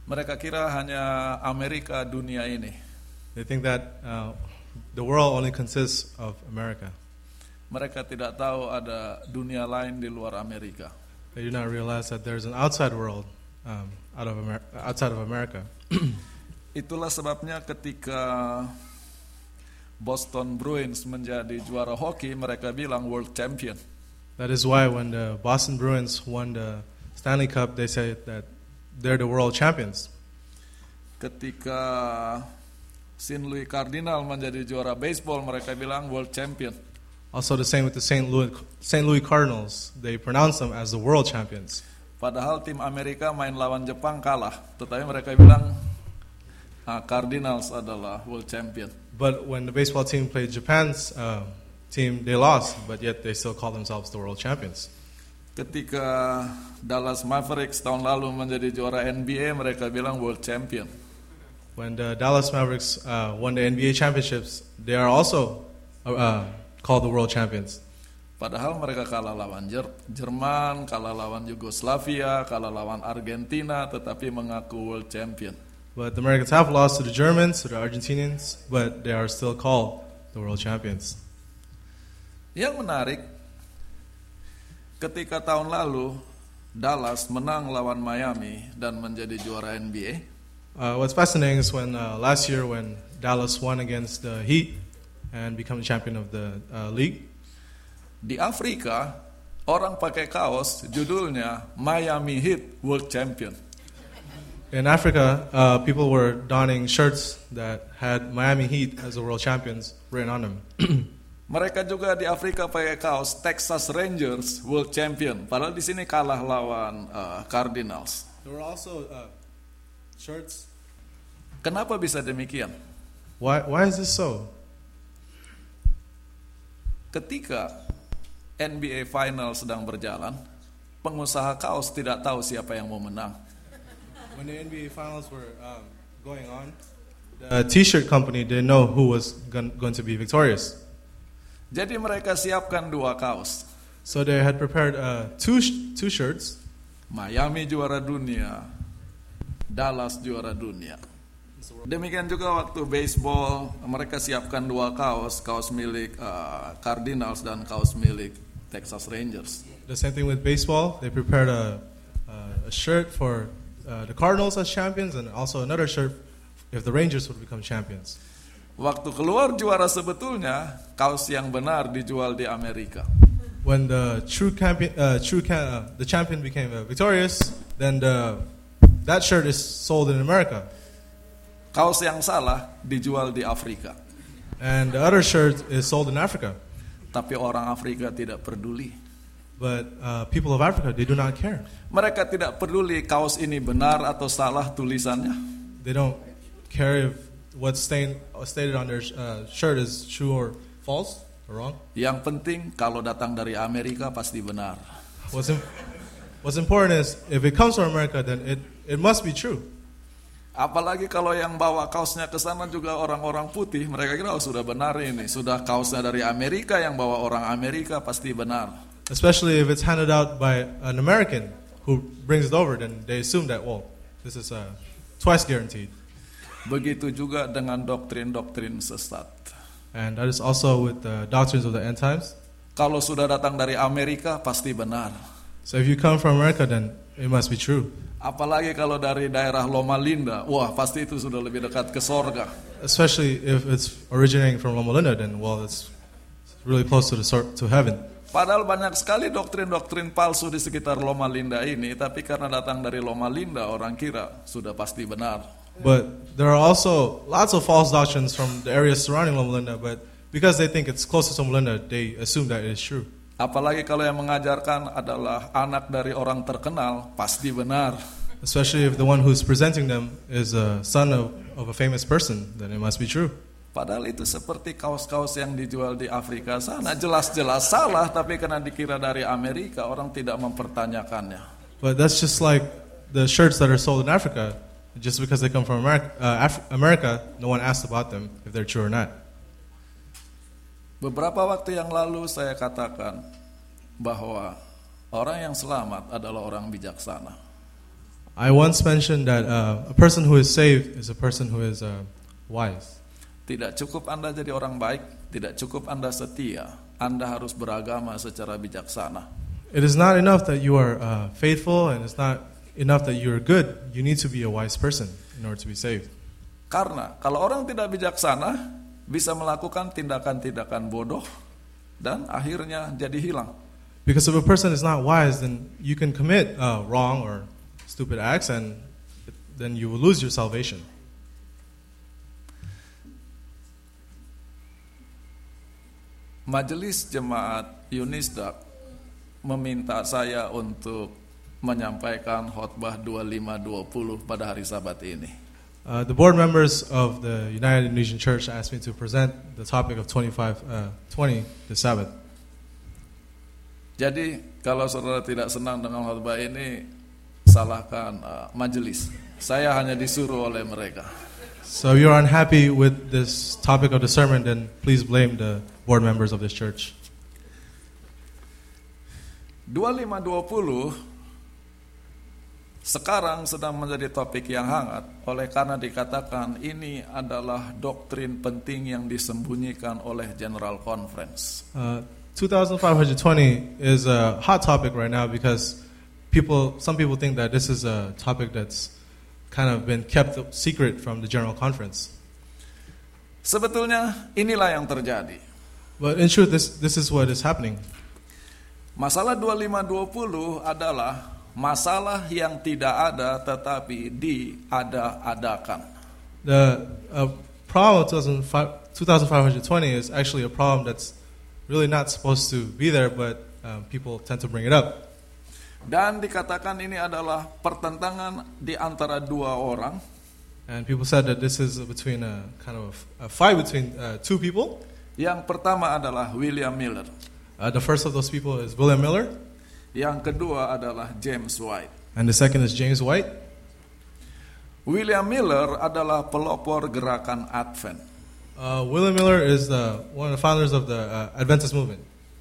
Mereka kira hanya Amerika dunia ini. They think that the world only consists of America. Mereka tidak tahu ada dunia lain di luar Amerika. They do not realize that there's an outside world outside of America. Itulah sebabnya ketika Boston Bruins menjadi juara hoki, mereka bilang world champion. That is why when the Boston Bruins won the Stanley Cup, they say that they're the world champions. Ketika St. Louis Cardinals menjadi juara baseball, mereka bilang world champion. Also the same with the St. Louis Cardinals. They pronounce them as the world champions. Padahal tim Amerika main lawan Jepang kalah, tetapi mereka bilang Cardinals adalah world champion. But when the baseball team played Japan's team, they lost, but yet they still call themselves the world champions. Ketika Dallas Mavericks tahun lalu menjadi juara NBA, mereka bilang world champion. When the Dallas Mavericks won the NBA championships, they are also called the world champions. Padahal mereka kalah lawan Jerman, kalah lawan Yugoslavia, kalah lawan Argentina, tetapi mengaku world champion. But the Americans have lost to the Germans, to the Argentinians, but they are still called the world champions. Yang menarik, ketika tahun lalu Dallas menang lawan Miami dan menjadi juara NBA. What's fascinating is when last year when Dallas won against the Heat and become the champion of the league. Di Afrika, orang pakai kaos judulnya Miami Heat World Champion. In Africa, people were donning shirts that had Miami Heat as the world champions written on them. Mereka juga di Afrika pakai kaos Texas Rangers World Champion. Padahal di sini kalah lawan Cardinals. There were also shirts. Kenapa bisa demikian? Why is this so? Ketika NBA Final sedang berjalan, pengusaha kaos tidak tahu siapa yang mau menang. When the NBA Finals were going on, the T-shirt company didn't know who was going to be victorious. Jadi mereka siapkan dua kaos. So they had prepared two shirts. Miami juara dunia, Dallas juara dunia. Demikian juga waktu baseball, mereka siapkan dua kaos milik Cardinals dan kaos milik Texas Rangers. The same thing with baseball. They prepared a shirt for the Cardinals as champions and also another shirt if the Rangers would become champions. Waktu keluar juara sebetulnya, kaos yang benar dijual di Amerika. When the the champion became victorious, then that shirt is sold in America. Kaos yang salah dijual di Afrika. And the other shirt is sold in Africa. Tapi orang Afrika tidak peduli. But people of Africa, they do not care. Mereka tidak peduli kaos ini benar atau salah tulisannya. They don't care if what's stated on their shirt is true or false or wrong. Yang penting kalau datang dari Amerika pasti benar. What's important is if it comes from America, then it must be true. Apalagi kalau yang bawa kaosnya ke sana juga orang-orang putih, mereka kira sudah benar ini, sudah kaosnya dari Amerika, yang bawa orang Amerika pasti benar. Especially if it's handed out by an American who brings it over, then they assume that this is twice guaranteed. Begitu juga dengan doktrin-doktrin sesat. And that is also with the doctrines of the end times. Kalau sudah datang dari Amerika pasti benar. So if you come from America, then it must be true. Apalagi kalau dari daerah Loma Linda, wah pasti itu sudah lebih dekat ke sorga. Especially if it's originating from Loma Linda, then it's really close to heaven. Padahal banyak sekali doktrin-doktrin palsu di sekitar Loma Linda ini, tapi karena datang dari Loma Linda, orang kira sudah pasti benar. But there are also lots of false doctrines from the areas surrounding Loma Linda, but because they think it's closest to Loma Linda, they assume that it is true. Apalagi kalau yang mengajarkan adalah anak dari orang terkenal, pasti benar. Especially if the one who's presenting them is a son of a famous person, then it must be true. Padahal itu seperti kaos-kaos yang dijual di Afrika sana, jelas-jelas salah, tapi karena dikira dari Amerika, orang tidak mempertanyakannya. But that's just like the shirts that are sold in Africa. Just because they come from America, no one asks about them if they're true or not. Beberapa waktu yang lalu saya katakan bahwa orang yang selamat adalah orang bijaksana. I once mentioned that a person who is saved is a person who is wise. Tidak cukup Anda jadi orang baik, tidak cukup Anda setia, Anda harus beragama secara bijaksana. It is not enough that you are faithful, and it's not enough that you are good. You need to be a wise person in order to be saved. Karena kalau orang tidak bijaksana, bisa melakukan tindakan-tindakan bodoh, dan akhirnya jadi hilang. Because if a person is not wise, then you can commit wrong or stupid acts, and then you will lose your salvation. Majelis Jemaat Unisdak meminta saya untuk menyampaikan khotbah 25-20 pada hari Sabat ini. The board members of the United Indonesian Church asked me to present the topic of 20 the Sabbath. Jadi kalau saudara tidak senang dengan khotbah ini, salahkan majelis. Saya hanya disuruh oleh mereka. So if you're unhappy with this topic of the sermon, then please blame the board members of this church. 25-20 sekarang sedang menjadi topik yang hangat oleh karena dikatakan ini adalah doktrin penting yang disembunyikan oleh General Conference. 2520 is a hot topic right now because some people think that this is a topic that's kind of been kept secret from the General Conference. Sebetulnya inilah yang terjadi. But in truth, this is what is happening. Masalah 25-20 adalah masalah yang tidak ada tetapi diada-adakan. The problem of 2520 is actually a problem that's really not supposed to be there, but people tend to bring it up. Dan dikatakan ini adalah pertentangan di antara dua orang. And people said that this is between a kind of a fight between two people. Yang pertama adalah William Miller. The first of those people is William Miller. Yang kedua adalah James White. And the second is James White. William Miller adalah pelopor gerakan Advent. William Miller is one of the founders of the Adventist movement.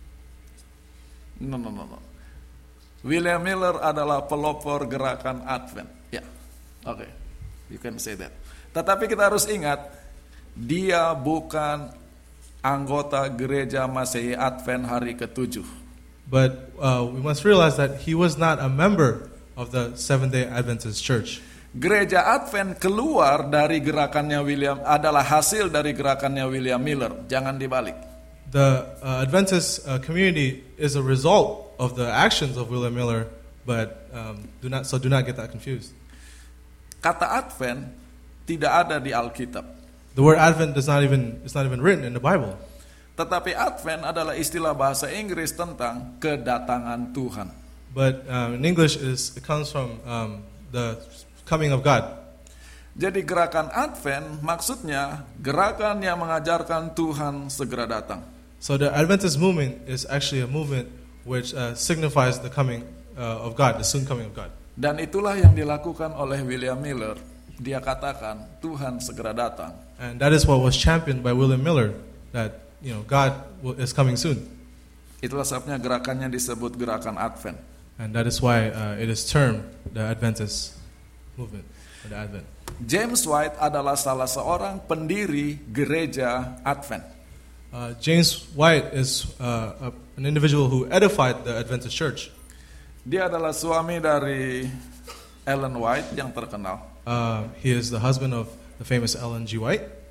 No. William Miller adalah pelopor gerakan Advent. Ya, oke, you can say that. Tetapi kita harus ingat, dia bukan anggota gereja Masehi Advent hari ke-7. But we must realize that he was not a member of the Seventh-day Adventist Church. Gereja Advent keluar dari gerakannya adalah hasil dari gerakannya William Miller. Jangan dibalik. The Adventist community is a result of the actions of William Miller, but do not get that confused. Kata Advent tidak ada di Alkitab. The word Advent is not even written in the Bible. Tetapi Advent adalah istilah bahasa Inggris tentang kedatangan Tuhan. But in English it comes from the coming of God. Jadi gerakan Advent maksudnya gerakan yang mengajarkan Tuhan segera datang. So the Adventist movement is actually a movement which signifies the coming of God, the soon coming of God. Dan itulah yang dilakukan oleh William Miller. Dia katakan Tuhan segera datang. And that is what was championed by William Miller, that God is coming soon. Itulah sebabnya gerakannya disebut gerakan Advent. And that is why it is termed the Adventist movement, or the Advent. James White adalah salah seorang pendiri gereja Advent. James White is an individual who edified the Adventist Church. Dia adalah suami dari Ellen White yang terkenal. He is the husband of the famous Ellen G. White.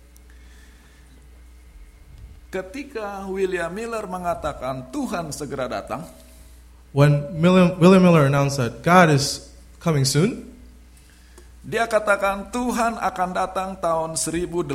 Ketika William Miller mengatakan Tuhan segera datang, when William Miller announced that God is coming soon, dia katakan Tuhan akan datang tahun 1843.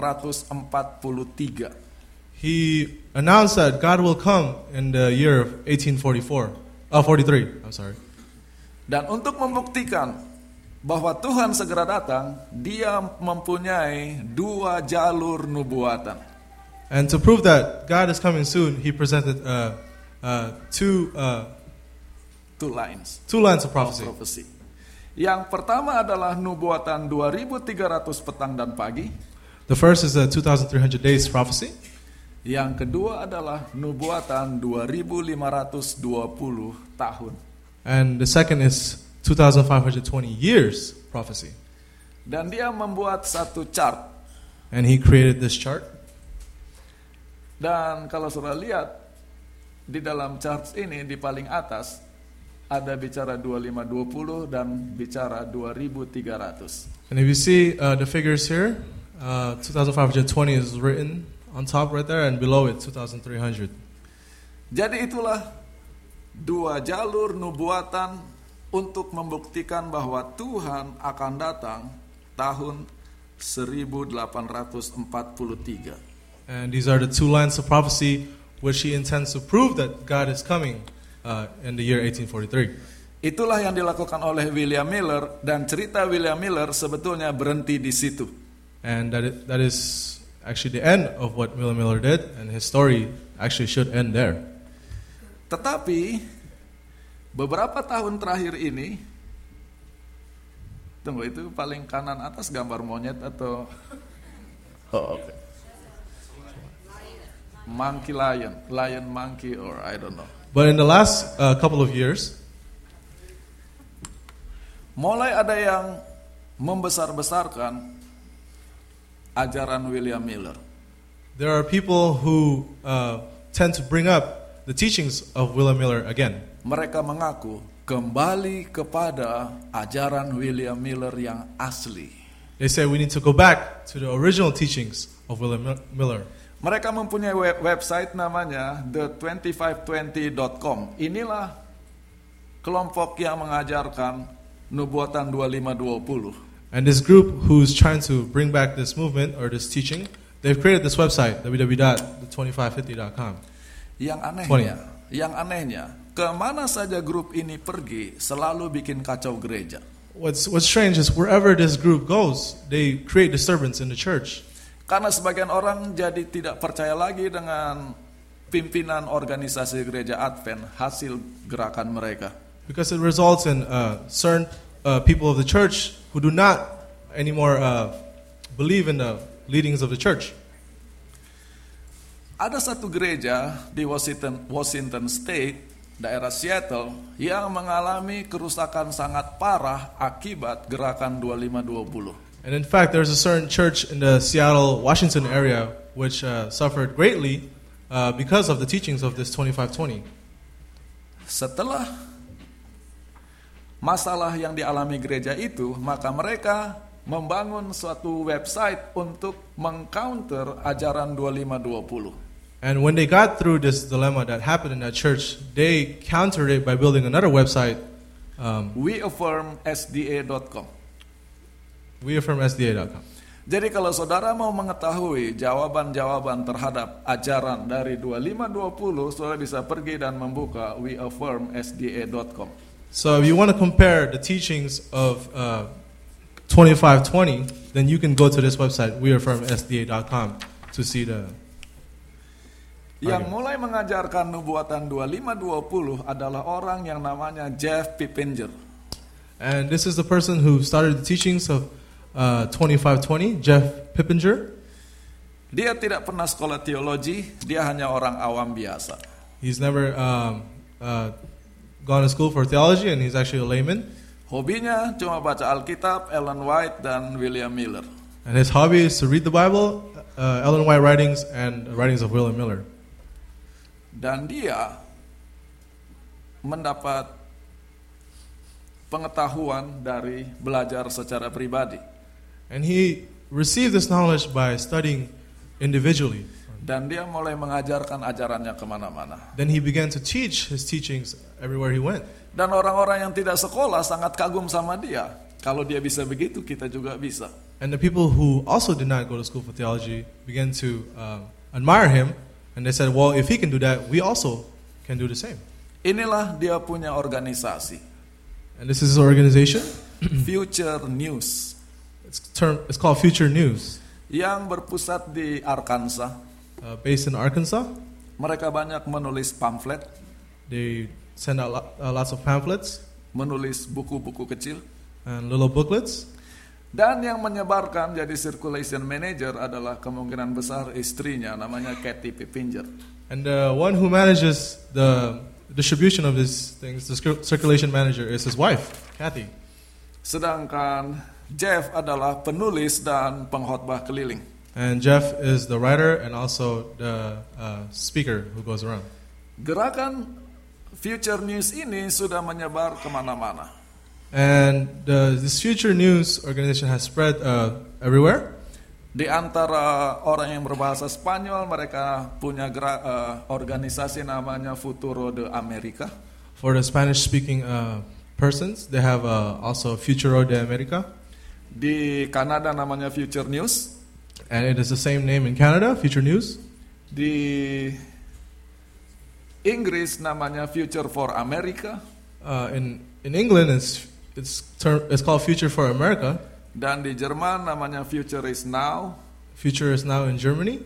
He announced that God will come in the year of 43. I'm sorry. Dan untuk membuktikan bahwa Tuhan segera datang, dia mempunyai dua jalur nubuatan. And to prove that God is coming soon, he presented two lines of prophecy. Yang pertama adalah nubuatan 2300 petang dan pagi. The first is the 2300 days prophecy. Yang kedua adalah nubuatan 2520 tahun. And the second is 2,520 years prophecy. Dan dia membuat satu chart. And he created this chart. Dan kalau saudara lihat di dalam chart ini di paling atas ada bicara 2520 dan bicara 2300. And if you see the figures here, 2,520 is written on top right there, and below it 2,300. Jadi itulah dua jalur nubuatan untuk membuktikan bahwa Tuhan akan datang tahun 1843. And these are the two lines of prophecy which he intends to prove that God is coming in the year 1843. Itulah yang dilakukan oleh William Miller, dan cerita William Miller sebetulnya berhenti di situ. And that is actually the end of what William Miller did, and his story actually should end there. Tetapi beberapa tahun terakhir ini, tunggu, itu paling kanan atas gambar monyet atau okay. Monkey lion monkey, or I don't know. But in the last couple of years, mulai ada yang membesar-besarkan ajaran William Miller. There are people who tend to bring up the teachings of William Miller again. Mereka mengaku kembali kepada ajaran William Miller yang asli. They say we need to go back to the original teachings of William Miller. Mereka mempunyai website namanya the2520.com. Inilah kelompok yang mengajarkan nubuatan 2520. And this group who's trying to bring back this movement or this teaching, they've created this website, www.the2550.com. Yang anehnya, kemana saja grup ini pergi selalu bikin kacau gereja. What's strange is wherever this group goes, they create disturbance in the church. Karena sebagian orang jadi tidak percaya lagi dengan pimpinan organisasi gereja Advent hasil gerakan mereka. Because it results in certain people of the church who do not anymore believe in the leadings of the church. Ada satu gereja di Washington State, daerah Seattle, yang mengalami kerusakan sangat parah akibat gerakan 2520. And in fact, there's a certain church in the Seattle, Washington area which suffered greatly because of the teachings of this 2520. Setelah masalah yang dialami gereja itu, maka mereka membangun suatu website untuk mengcounter ajaran 2520. And when they got through this dilemma that happened in that church, they countered it by building another website. WeAffirmSDA.com. WeAffirmSDA.com. Jadi kalau saudara mau mengetahui jawaban-jawaban terhadap ajaran dari 2520, saudara bisa pergi dan membuka WeAffirmSDA.com. So if you want to compare the teachings of 2520, then you can go to this website, WeAffirmSDA.com, to see the... Yang mulai mengajarkan nubuatan 2520 adalah orang yang namanya Jeff Pippinger. And this is the person who started the teachings of 2520, Jeff Pippinger. Dia tidak pernah sekolah teologi, dia hanya orang awam biasa. He's never gone to school for theology, and he's actually a layman. Hobinya cuma baca Alkitab, Ellen White, dan William Miller. And his hobby is to read the Bible, Ellen White writings, and writings of William Miller. Dan dia mendapat pengetahuan dari belajar secara pribadi. And he received this knowledge by studying individually. Dan dia mulai mengajarkan ajarannya kemana-mana. Then he began to teach his teachings everywhere he went. Dan orang-orang yang tidak sekolah sangat kagum sama dia. Kalau dia bisa begitu, kita juga bisa. And the people who also did not go to school for theology began to admire him. And they said, well, if he can do that, we also can do the same. Inilah dia punya organisasi. And this is his organization. Future News. It's called Future News. Yang berpusat di Arkansas. Based in Arkansas. Mereka banyak menulis pamflet. They send out lots of pamphlets. Menulis buku-buku kecil. And little booklets. Dan yang menyebarkan jadi circulation manager adalah kemungkinan besar istrinya, namanya Kathy Pippinger. And the one who manages the distribution of these things, the circulation manager is his wife, Kathy. Sedangkan Jeff adalah penulis dan pengkhotbah keliling. And Jeff is the writer and also the speaker who goes around. Gerakan Future News ini sudah menyebar kemana-mana. And this Future News organization has spread everywhere. Di antara orang yang berbahasa Spanyol, mereka punya organisasi namanya Futuro de America. For the Spanish-speaking persons, they have also Futuro de America. Di Kanada namanya Future News. And it is the same name in Canada, Future News. Di Inggris namanya Future for America. In England, it's called Future for America. Dan di Jerman namanya Future is Now. Future is Now in Germany.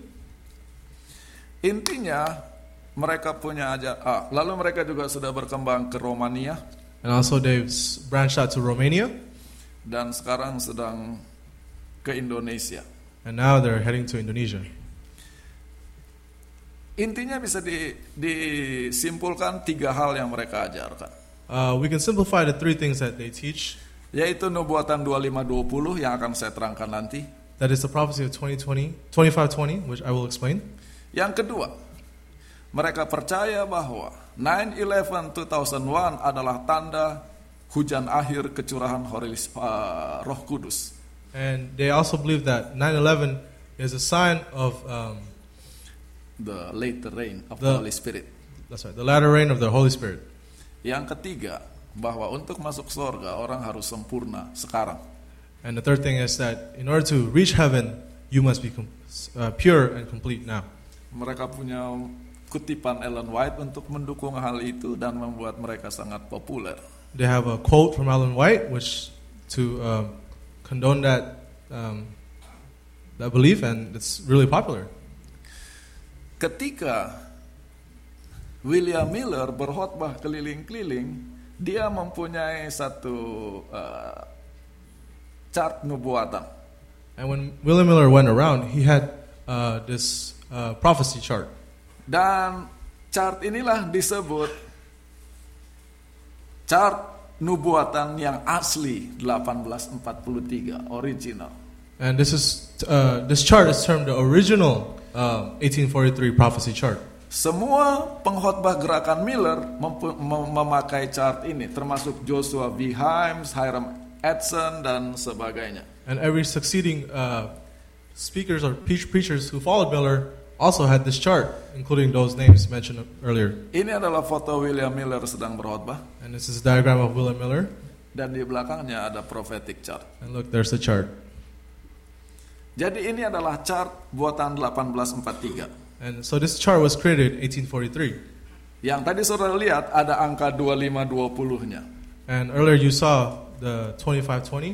Intinya mereka punya lalu mereka juga sudah berkembang ke Romania. And also they've branched out to Romania. Dan sekarang sedang ke Indonesia. And now they're heading to Indonesia. Intinya bisa disimpulkan 3 hal yang mereka ajarkan. We can simplify the 3 things that they teach. Yaitu nubuatan 2520 yang akan saya terangkan nanti. That is the prophecy of 2520, which I will explain. Yang kedua, mereka percaya bahwa 9/11 2001 adalah tanda hujan akhir kecurahan Roh Kudus. And they also believe that 9/11 is a sign of the later rain of the Holy Spirit. That's right, the latter rain of the Holy Spirit. Yang ketiga, bahwa untuk masuk surga orang harus sempurna sekarang. And the third thing is that in order to reach heaven, you must be pure and complete now. Mereka punya kutipan Ellen White untuk mendukung hal itu dan membuat mereka sangat populer. They have a quote from Ellen White which to condone that belief, and it's really popular. Ketika William Miller berkhotbah keliling-keliling, dia mempunyai satu chart nubuatan. And when William Miller went around, he had this prophecy chart. Dan chart inilah disebut chart nubuatan yang asli 1843, original. And this chart is termed the original 1843 prophecy chart. Semua pengkhotbah gerakan Miller memakai chart ini, termasuk Joshua V. Himes, Hiram Edson, dan sebagainya. And every succeeding speakers or preachers who followed Miller also had this chart, including those names mentioned earlier. Ini adalah foto William Miller sedang berkhotbah. And this is a diagram of William Miller. Dan di belakangnya ada prophetic chart. And look, there's the chart. Jadi ini adalah chart buatan 1843. And so this chart was created in 1843. Yang tadi saudara lihat ada angka 2520-nya. And earlier you saw the 2520.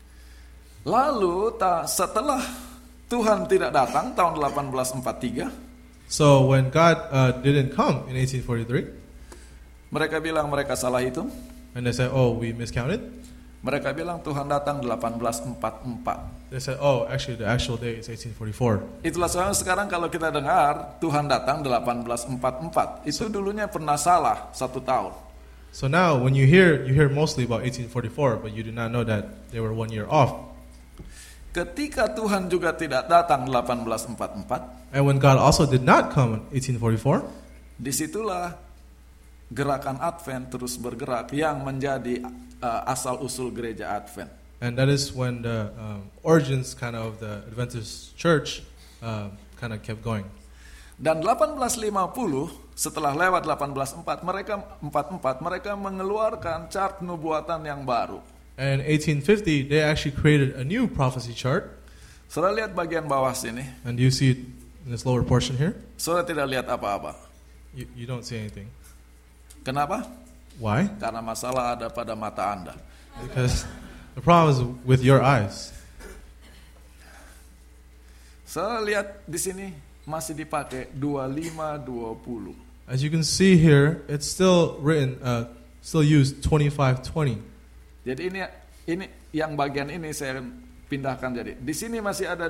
Lalu setelah Tuhan tidak datang tahun 1843. So when God didn't come in 1843, mereka bilang mereka salah hitung. and they said, "Oh, we miscounted." Mereka bilang Tuhan datang 1844. They said, "Oh, actually the actual date is 1844." Itulah sebabnya sekarang kalau kita dengar Tuhan datang 1844, itu dulunya pernah salah 1 tahun. So now when you hear mostly about 1844, but you do not know that they were 1 year off. Ketika Tuhan juga tidak datang 1844, And when God also did not come in 1844, disitulah gerakan Advent terus bergerak yang menjadi asal-usul gereja Advent. and that is when the origins kind of the Adventist church kind of kept going. Dan 1850 setelah lewat 1844 mereka mengeluarkan chart nubuatan yang baru. And in 1850, they actually created a new prophecy chart. Saudara lihat bagian bawah sini. And you see it in this lower portion here. Saudara tidak lihat apa-apa. You don't see anything. Kenapa? Why? Karena masalah ada pada mata Anda. Because the problem is with your eyes. Saudara lihat di sini masih dipakai 2520. As you can see here, it's still written, still used 2520. Jadi ini yang bagian ini saya pindahkan jadi. Di sini masih ada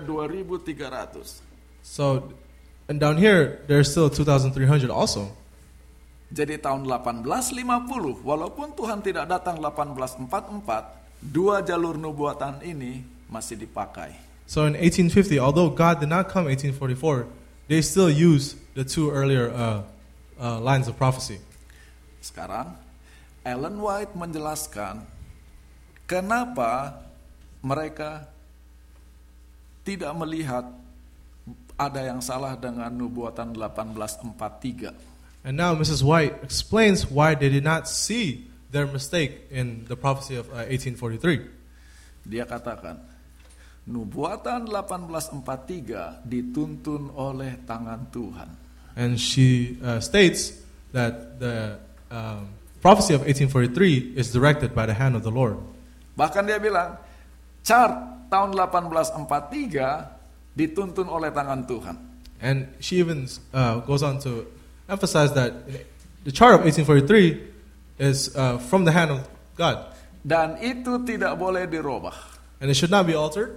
2300. So, and down here, there's still 2300 also. Jadi tahun 1850, walaupun Tuhan tidak datang 1844, dua jalur nubuatan ini masih dipakai. So in 1850, although God did not come 1844, they still use the two earlier lines of prophecy. Sekarang, Ellen White menjelaskan kenapa mereka tidak melihat ada yang salah dengan nubuatan 1843. And now Mrs. White explains why they did not see their mistake in the prophecy of 1843. Dia katakan, nubuatan 1843 dituntun oleh tangan Tuhan. And she states that the prophecy of 1843 is directed by the hand of the Lord. Bahkan dia bilang, chart tahun 1843 dituntun oleh tangan Tuhan. And she even goes on to emphasize that the chart of 1843 is from the hand of God. Dan itu tidak boleh dirubah. And it should not be altered.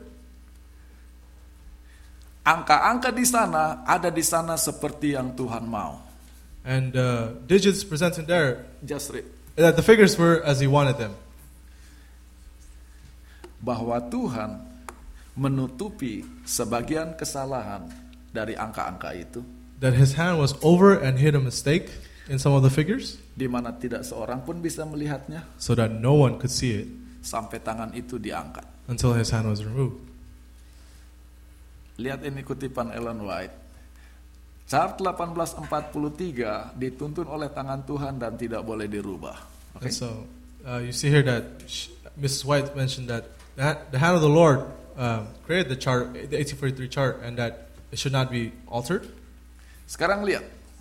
Angka-angka di sana ada di sana seperti yang Tuhan mau. And digits presented there, Just read. that the figures were as He wanted them. Bahwa Tuhan menutupi sebagian kesalahan dari angka-angka itu, That His hand was over and hid a mistake in some of the figures, di mana tidak seorang pun bisa melihatnya so that no one could see it sampai tangan itu diangkat. until His hand was removed. Lihat ini kutipan Ellen White. Chart 1843 dituntun oleh tangan Tuhan dan tidak boleh dirubah. And so you see here that Mrs. White mentioned that the hand of the Lord created the chart, the 1843 chart, and that it should not be altered. Sekarang lihat.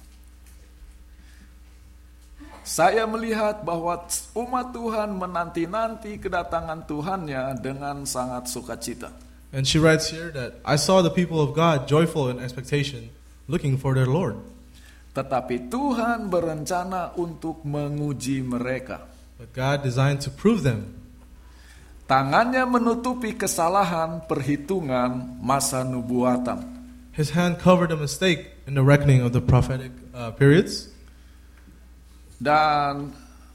Saya melihat bahwa umat Tuhan menanti-nanti kedatangan Tuhannya dengan sangat sukacita. And she writes here that I saw the people of God joyful in expectation, looking for their Lord. Tetapi Tuhan berencana untuk menguji mereka. But God designed to prove them. Tangannya menutupi kesalahan perhitungan masa nubuatan. His hand covered a mistake in the reckoning of the prophetic periods. Dan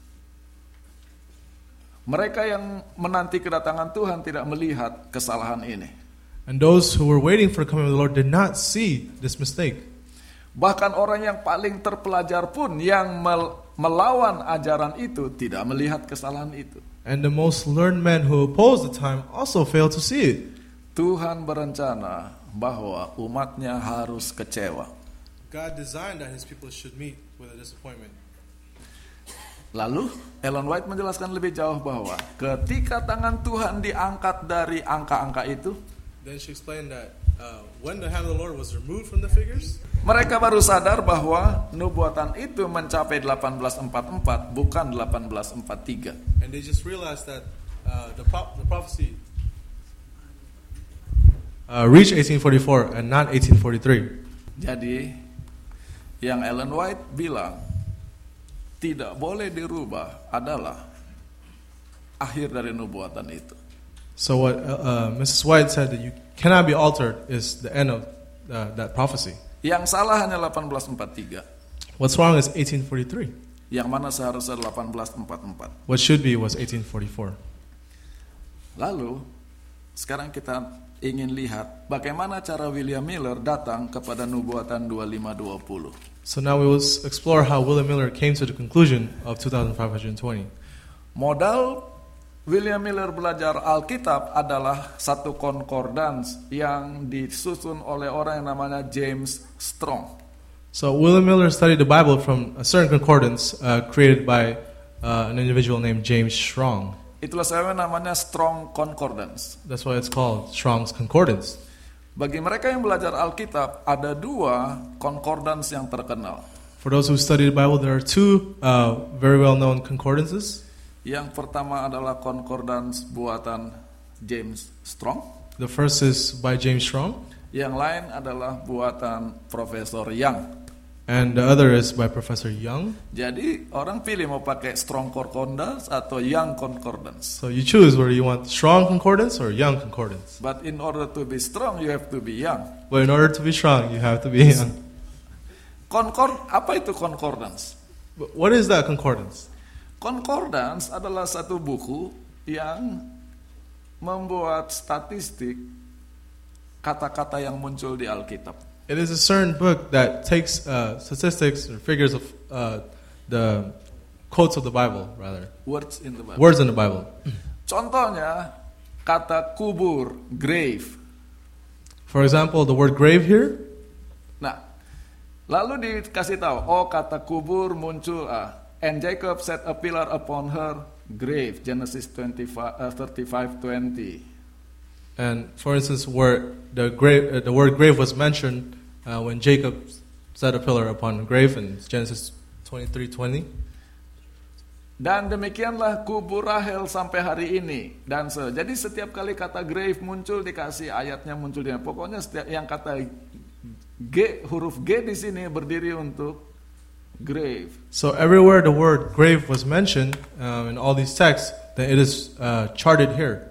mereka yang menanti kedatangan Tuhan tidak melihat kesalahan ini. And those who were waiting for the coming of the Lord did not see this mistake. Bahkan orang yang paling terpelajar pun yang melawan ajaran itu tidak melihat kesalahan itu. And the most learned men who opposed the time also failed to see it. Tuhan berencana bahwa umatnya harus kecewa. God designed that His people should meet with a disappointment. Lalu Ellen White menjelaskan lebih jauh bahwa ketika tangan Tuhan diangkat dari angka-angka itu, Then she explained that when the hand of the Lord was removed from the figures, mereka baru sadar bahwa nubuatan itu mencapai 1844 bukan 1843. and they just realized that the prophecy reached 1844 and not 1843. Jadi yang Ellen White bilang tidak boleh dirubah adalah akhir dari nubuatan itu. So what Mrs. White said that you cannot be altered is the end of that prophecy. Yang salah hanya 1843. What's wrong is 1843. Yang mana seharusnya 1844. What should be was 1844. Lalu sekarang kita ingin lihat bagaimana cara William Miller datang kepada nubuatan 2520. So now we will explore how William Miller came to the conclusion of 2520. Modal William Miller belajar Alkitab adalah satu concordance yang disusun oleh orang yang namanya James Strong. So William Miller studied the Bible from a certain concordance created by an individual named James Strong. Itulah sebabnya namanya Strong Concordance. That's why it's called Strong's Concordance. Bagi mereka yang belajar Alkitab, ada dua concordance yang terkenal. For those who study the Bible, there are two very well-known concordances. Yang pertama adalah concordance buatan James Strong. The first is by James Strong, Yang lain adalah buatan Profesor Young. and the other is by Professor Young. Jadi orang pilih mau pakai Strong Concordance atau Young Concordance. So you choose whether you want Strong Concordance or Young Concordance. But in order to be strong, you have to be young. But in order to be strong, you have to be young. Apa itu concordance? But what is that concordance? Concordance adalah satu buku yang membuat statistik kata-kata yang muncul di Alkitab. It is a certain book that takes statistics or figures of the quotes of the Bible, rather. Words in the Bible. Words in the Bible. Contohnya, kata kubur, grave. For example, the word grave here. Nah, lalu dikasih tahu, kata kubur muncul, and Jacob set a pillar upon her grave, Genesis 35:20. And for instance, where the word grave was mentioned when Jacob set a pillar upon a grave in Genesis 23:20. Dan demikianlah kubur Rahel sampai hari ini. Jadi setiap kali kata grave muncul dikasih ayatnya muncul di sana. Pokoknya setiap yang kata G, huruf G di sini berdiri untuk grave. So everywhere the word grave was mentioned in all these texts, then it is charted here.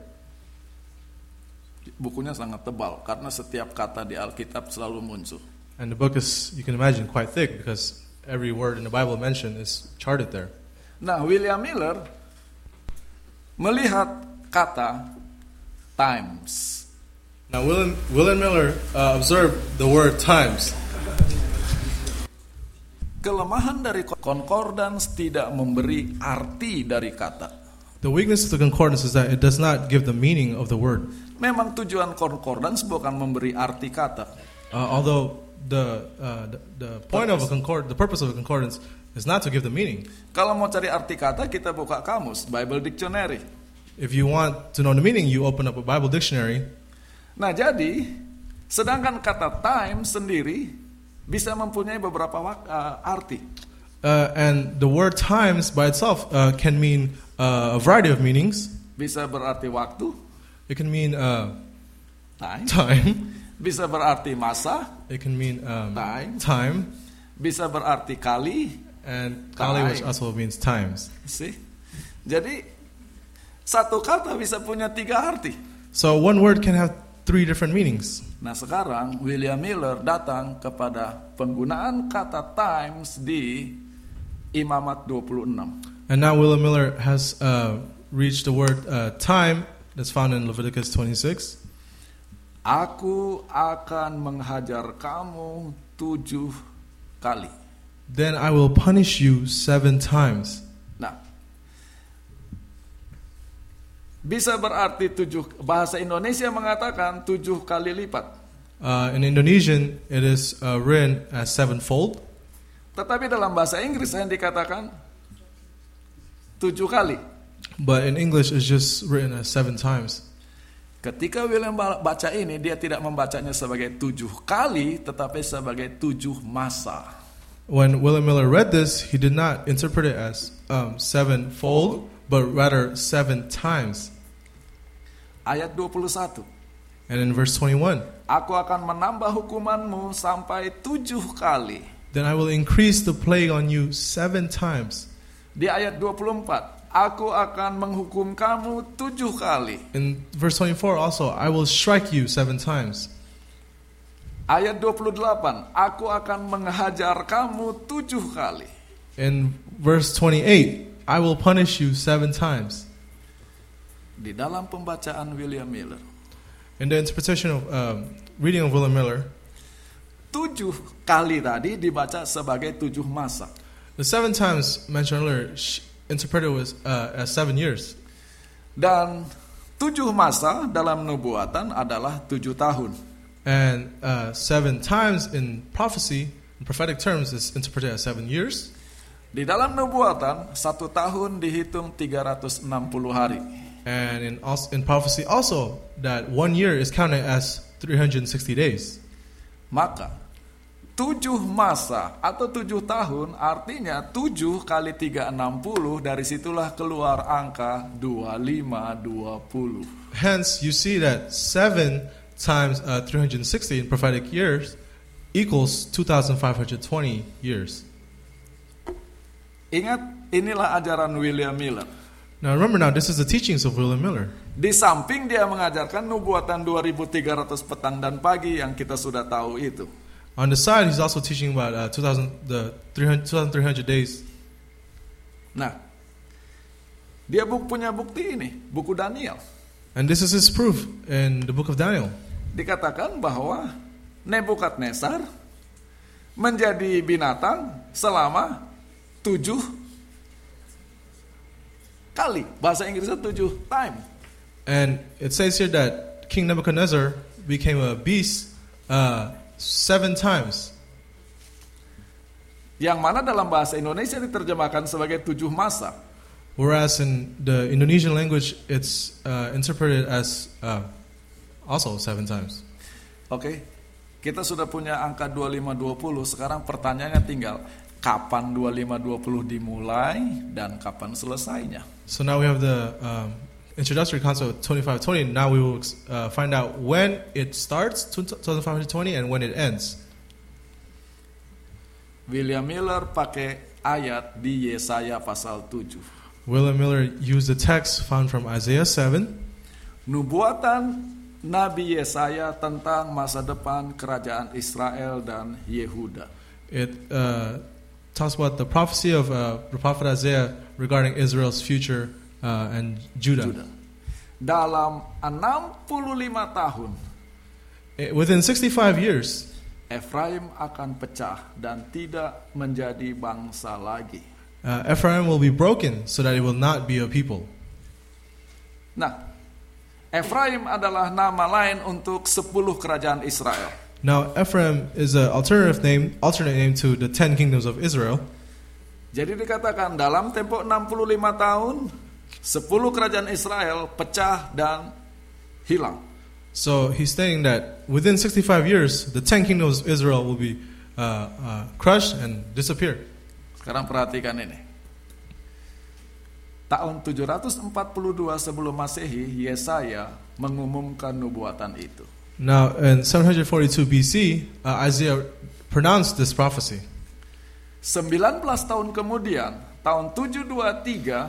Bukunya sangat tebal karena setiap kata di Alkitab selalu muncul. And the book is, you can imagine, quite thick because every word in the Bible mentioned is charted there. Nah, William Miller melihat kata times. Now, William Miller observed the word times. Kelemahan dari concordance tidak memberi arti dari kata. The weakness of the concordance is that it does not give the meaning of the word. Memang tujuan concordance bukan memberi arti kata. Although the point of the purpose of a concordance is not to give the meaning. Kalau mau cari arti kata, kita buka kamus, Bible Dictionary. If you want to know the meaning, you open up a Bible dictionary. Nah, jadi sedangkan kata time sendiri bisa mempunyai beberapa arti. And the word times by itself can mean a variety of meanings. Bisa berarti waktu. It can mean time. Bisa berarti masa. It can mean time. Bisa berarti kali. And kali, which also means times. See? Jadi satu kata bisa punya 3 arti. So one word can have 3 different meanings. Nah, sekarang William Miller datang kepada penggunaan kata times di Imamat 26. And now William Miller has reached the word time that's found in Leviticus 26. Aku akan menghajar kamu 7 kali. Then I will punish you 7 times. Nah, bisa berarti 7. Bahasa Indonesia mengatakan 7 kali lipat. In Indonesian, it is written as 7-fold. Tetapi dalam bahasa Inggris yang dikatakan 7 kali. But in English, it's just written as 7 times. Ketika William baca ini, dia tidak membacanya sebagai 7 kali, tetapi sebagai 7 masa. When William Miller read this, he did not interpret it as 7-fold, but rather 7 times. Ayat 21. And in verse 21, Aku akan menambah hukumanmu sampai 7 kali. Then I will increase the plague on you 7 times. Di ayat 24, Aku akan menghukum kamu 7 kali. In verse 24 also, I will strike you 7 times. Ayat 28, Aku akan menghajar kamu 7 kali. In verse 28, I will punish you 7 times. Di dalam pembacaan William Miller, In the interpretation of reading of William Miller, 7 kali tadi dibaca sebagai 7 masa. the 7 times mentioned earlier interpreted as 7 years. Dan 7 masa dalam nubuatan adalah 7 tahun. And 7 times in prophecy, in prophetic terms, is interpreted as 7 years. Di dalam nubuatan, 1 tahun dihitung 360 hari. And in prophecy also, that 1 year is counted as 360 days. Maka 7 masa atau 7 tahun artinya 7 kali 360, dari situlah keluar angka 2520. Hence, you see that 7 times 360 in prophetic years equals 2,520 years. Ingat, inilah ajaran William Miller. Now remember, this is the teachings of William Miller. Di samping dia mengajarkan nubuatan 2300 petang dan pagi yang kita sudah tahu itu. On the side, he's also teaching about 2,300 days Nah, dia punya bukti ini, buku Daniel. And this is his proof in the book of Daniel. Dikatakan bahwa Nebukadnezar menjadi binatang selama 7 kali. Bahasa Inggrisnya 7 time. And it says here that King Nebuchadnezzar became a beast 7 times. Yang mana dalam bahasa Indonesia diterjemahkan sebagai 7 masa. Whereas in the Indonesian language, it's interpreted as also 7 times. Oke, kita sudah punya angka 2520. Sekarang pertanyaannya tinggal kapan 2520 dimulai dan kapan selesainya. So now we have the introductory concept of 2520. Now we will find out when it starts, 2520, and when it ends. William Miller pakai ayat di Yesaya pasal 7. William Miller used the text found from Isaiah 7. Nubuatan Nabi Yesaya tentang masa depan kerajaan Israel dan Yehuda. It talks about the prophecy of the prophet Isaiah regarding Israel's future and Judah. Dalam 65 tahun, Within 65 years, Efraim akan pecah dan tidak menjadi bangsa lagi. Ephraim will be broken so that it will not be a people. Nah, Efraim adalah nama lain untuk 10 kerajaan Israel. Now, Ephraim is an alternate name to the 10 kingdoms of Israel. Jadi dikatakan dalam tempo 65 tahun, 10 kerajaan Israel pecah dan hilang. So he's saying that within 65 years, the 10 kingdoms of Israel will be crushed and disappear. Sekarang perhatikan ini. Tahun 742 sebelum Masehi, Yesaya mengumumkan nubuatan itu. Now, in 742 BC, Isaiah pronounced this prophecy. 19 tahun kemudian, tahun 723,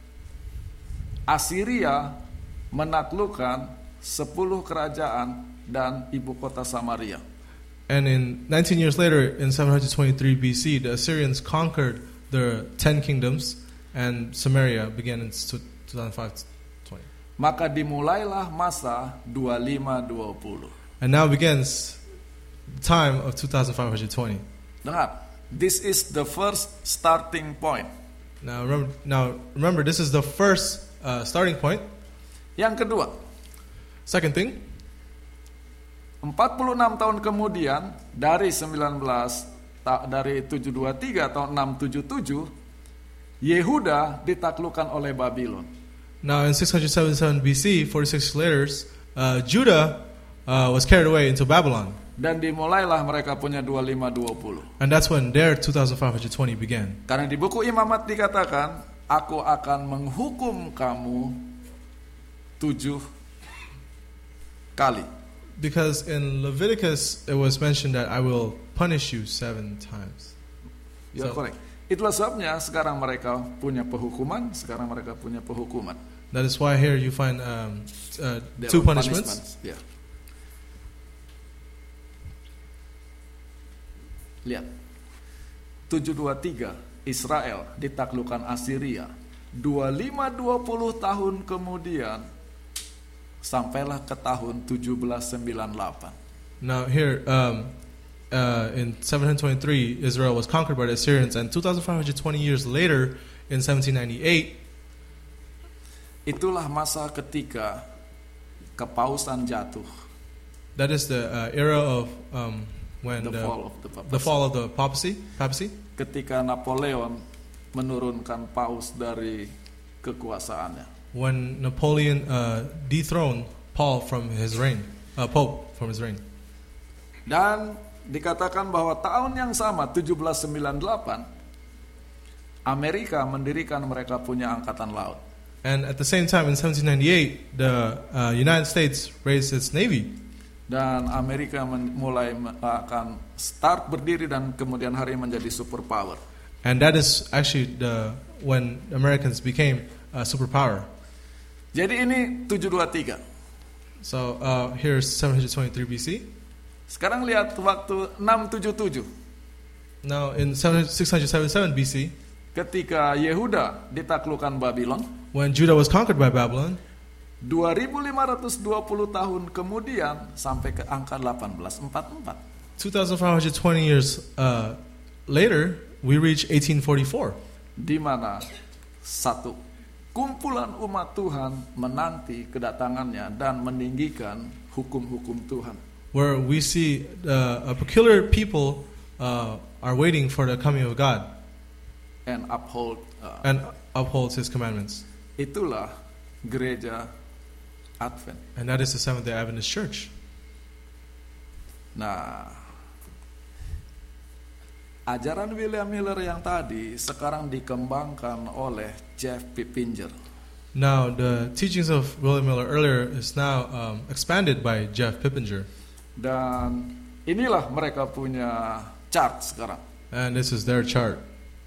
Assyria menaklukkan 10 kerajaan dan ibu kota Samaria. And in 19 years later, in 723 BC, the Assyrians conquered the 10 kingdoms, and Samaria began in 2020. Maka dimulailah masa 2520. And now begins the time of 2520. Dengar, this is the first starting point. Now remember, this is the first starting point. Yang kedua, Second thing, 46 tahun kemudian dari 723 tahun 677, Yehuda ditaklukkan oleh Babylon. now in 677 BC, 46 later, Judah was carried away into Babylon. Dan dimulailah mereka punya 2520. And that's when their 2520 began. Karena di buku Imamat dikatakan, aku akan menghukum kamu 7 kali. Because in Leviticus, it was mentioned that I will punish you 7 times. Ya, correct. Itulah sebabnya sekarang mereka punya penghukuman, sekarang mereka punya penghukuman. That is why here you find Their 2 own punishments. Ya. Lihat. 723 Israel ditaklukkan Assyria. 2520 tahun kemudian sampailah ke tahun 1798. Now here, in 723, Israel was conquered by the Assyrians, and 2,520 years later, in 1798, itulah masa ketika kepausan jatuh. that is the era of when The fall of the papacy. Ketika Napoleon menurunkan paus dari kekuasaannya. When Napoleon dethroned Paul from his reign, Pope from his reign. Dan dikatakan bahwa tahun yang sama 1798 Amerika mendirikan mereka punya angkatan laut. And at the same time in 1798 the United States raised its navy. Dan Amerika mulai akan start berdiri dan kemudian hari menjadi superpower. And that is actually when Americans became a superpower. Jadi ini 723. So here's 723 BC. Sekarang lihat waktu 677. Now in 677 BC, ketika Yehuda ditaklukkan Babylon, when Judah was conquered by Babylon, 2520 tahun kemudian sampai ke angka 1844. 2,520 years later, we reach 1844. Di mana satu kumpulan umat Tuhan menanti kedatangannya dan meninggikan hukum-hukum Tuhan. Where we see a peculiar people are waiting for the coming of God And upholds His commandments. Itulah gereja Advent. And that is the Seventh-day Adventist Church. Nah, ajaran William Miller yang tadi sekarang dikembangkan oleh Jeff Pippinger. Now, the teachings of William Miller earlier is now expanded by Jeff Pippinger. Dan inilah mereka punya chart sekarang. And this is their chart.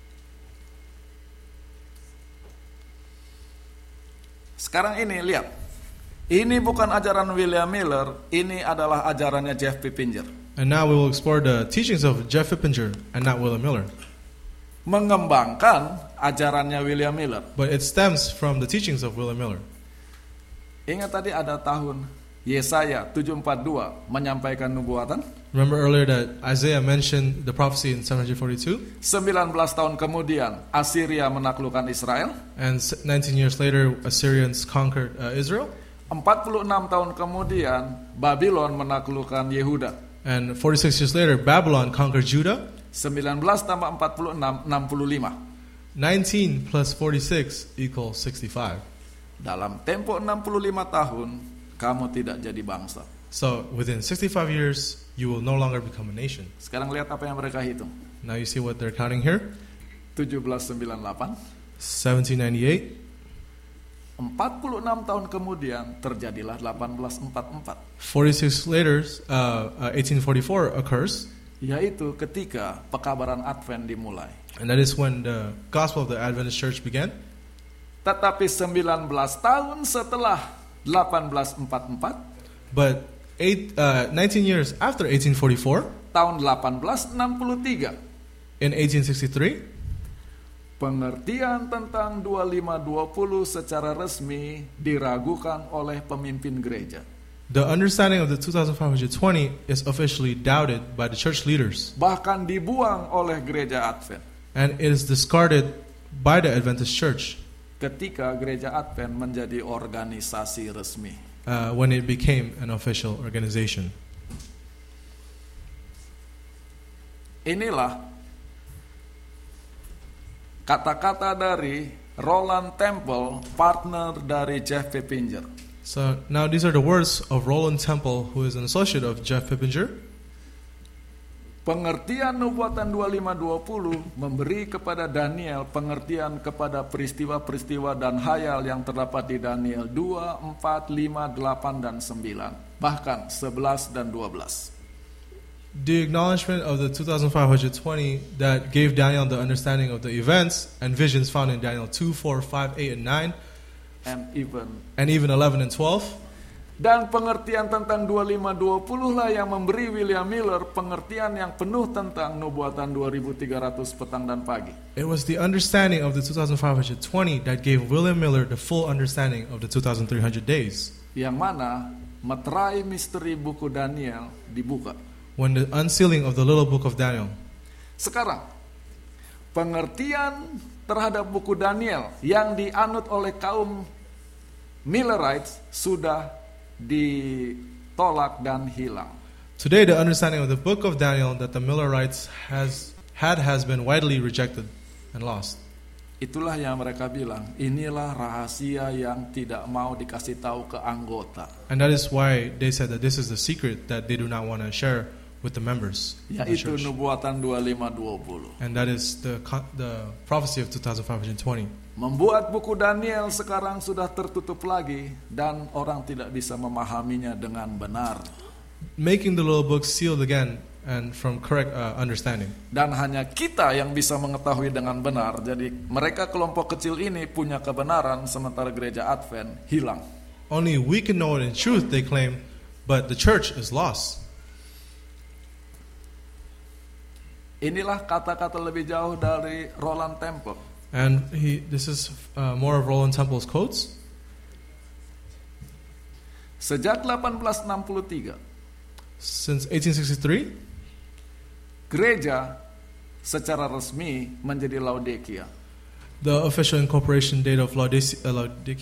Sekarang ini lihat. Ini bukan ajaran William Miller, ini adalah ajarannya Jeff Pippinger. And now we will explore the teachings of Jeff Pippinger and not William Miller. Mengembangkan ajarannya William Miller. But it stems from the teachings of William Miller. Ingat tadi ada tahun Yesaya 742 menyampaikan nubuatan. Remember earlier that Isaiah mentioned the prophecy in 742? 19 tahun kemudian Assyria menaklukkan Israel. And 19 years later, Assyrians conquered Israel. 46 tahun kemudian Babylon menaklukkan Yehuda. And 46 years later, Babylon conquered Judah. 19 tambah 46, 65. 19 plus 46 equals 65. Dalam tempo 65 tahun, kamu tidak jadi bangsa. So within 65 years, you will no longer become a nation. Sekarang lihat apa yang mereka hitung. Now you see what they're counting here. 1798. 1798. 46 tahun kemudian terjadilah 1844. 46 later, 1844 occurs. Yaitu ketika pekabaran Advent dimulai. And that is when the gospel of the Adventist Church began. Tetapi 19 tahun setelah 1844, but 19 years after 1844, tahun 1863, in 1863, pengertian tentang 2520 secara resmi diragukan oleh pemimpin gereja. The understanding of the 2520 is officially doubted by the church leaders. Bahkan dibuang oleh gereja Advent. And it is discarded by the Adventist Church. Ketika gereja Advent menjadi organisasi resmi. When it became an official organization. Inilah kata-kata dari Roland Temple, partner dari Jeff Pippinger. So now these are the words of Roland Temple, who is an associate of Jeff Pippinger. Pengertian nubuatan 2520 memberi kepada Daniel pengertian kepada peristiwa-peristiwa dan hayal yang terdapat di Daniel 2, 4, 5, 8, dan 9. Bahkan 11 dan 12. The acknowledgement of the 2520 that gave Daniel the understanding of the events and visions found in Daniel 2, 4, 5, 8, and 9. And even 11 and 12. Dan pengertian tentang 2520 lah yang memberi William Miller pengertian yang penuh tentang nubuatan 2300 petang dan pagi. It was the understanding of the 2520 that gave William Miller the full understanding of the 2300 days. Yang mana meterai misteri buku Daniel dibuka. When the unsealing of the little book of Daniel. Sekarang, pengertian terhadap buku Daniel yang dianut oleh kaum Millerites sudah ditolak dan hilang. Today, the understanding of the book of Daniel that the Millerites has been widely rejected and lost. Itulah yang mereka bilang, inilah rahasia yang tidak mau dikasih tahu ke anggota. And that is why they said that this is the secret that they do not want to share with the members of the yaitu church. nubuatan 2520. And that is the prophecy of 2520. Membuat buku Daniel sekarang sudah tertutup lagi dan orang tidak bisa memahaminya dengan benar. Making the little book sealed again and from correct understanding. Dan hanya kita yang bisa mengetahui dengan benar. Jadi mereka kelompok kecil ini punya kebenaran sementara gereja Advent hilang. Only we can know it in truth, they claim, but the church is lost. Inilah kata-kata lebih jauh dari Roland Temple. And this is more of Roland Temple's quotes. Sejak 1863, Since 1863, gereja secara resmi menjadi Laodikia. the official incorporation date of Laodicea.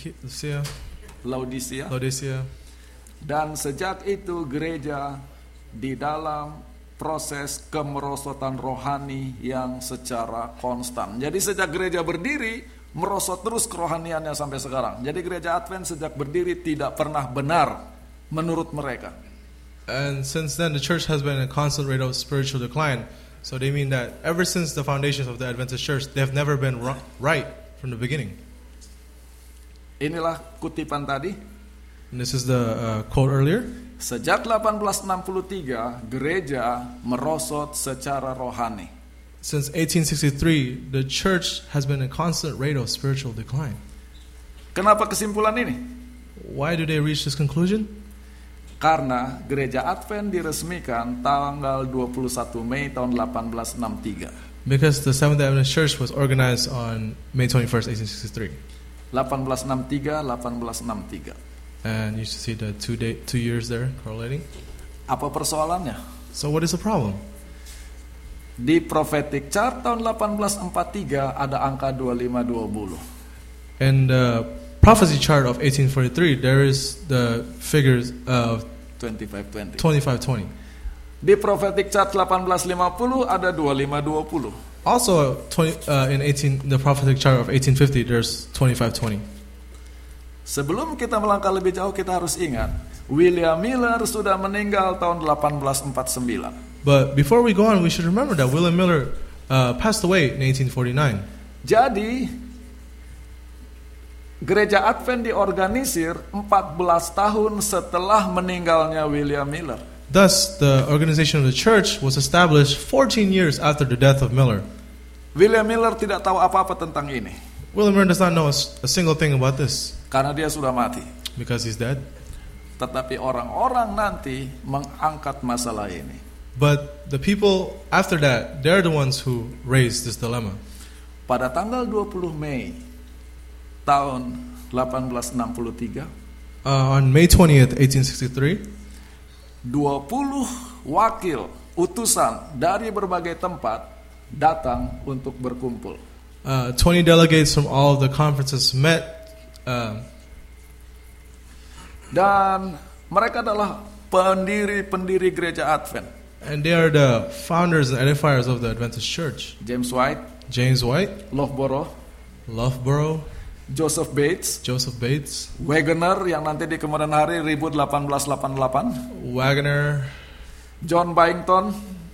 Dan sejak itu gereja di dalam proses kemerosotan rohani yang secara konstan. Jadi sejak gereja berdiri, merosot terus kerohaniannya sampai sekarang. Jadi gereja Advent sejak berdiri tidak pernah benar menurut mereka. And since then, the church has been in a constant rate of spiritual decline. So they mean that ever since the foundations of the Adventist church, they have never been right from the beginning. Inilah kutipan tadi. And this is the quote earlier. Sejak 1863, gereja merosot secara rohani. Since 1863, the church has been in a constant rate of spiritual decline. Kenapa kesimpulan ini? Why do they reach this conclusion? Karena gereja Advent diresmikan tanggal 21 Mei tahun 1863. Because the Seventh Adventist Church was organized on May 21st, 1863. 1863, 1863. And you should see the 2 years there correlating. Apa persoalannya? So what is the problem? Di prophetic chart tahun 1843 ada angka 2520. In the prophecy chart of 1843, there is the figures of 2520. 2520. Di prophetic chart 1850 ada 2520. Also, in the prophetic chart of 1850, there's 2520. Sebelum kita melangkah lebih jauh, kita harus ingat William Miller sudah meninggal tahun 1849. But before we go on, we should remember that William Miller passed away in 1849. Jadi gereja Advent diorganisir 14 tahun setelah meninggalnya William Miller. Thus, the organization of the church was established 14 years after the death of Miller. William Miller tidak tahu apa-apa tentang ini. William Miller does not know a single thing about this karena dia sudah mati. because he's dead. Tetapi orang-orang nanti mengangkat masalah ini. But the people after that, they're the ones who raised this dilemma. Pada tanggal 20 Mei tahun 1863, on May 20th, 1863, 20 wakil utusan dari berbagai tempat datang untuk berkumpul. 20 delegates from all of the conferences met. Dan mereka adalah pendiri-pendiri gereja Advent. And they are the founders and edifiers of the Adventist Church. James White, James White, Loughborough, Joseph Bates, Wagner yang nanti di kemudian hari 1888, Wagner, John Byington,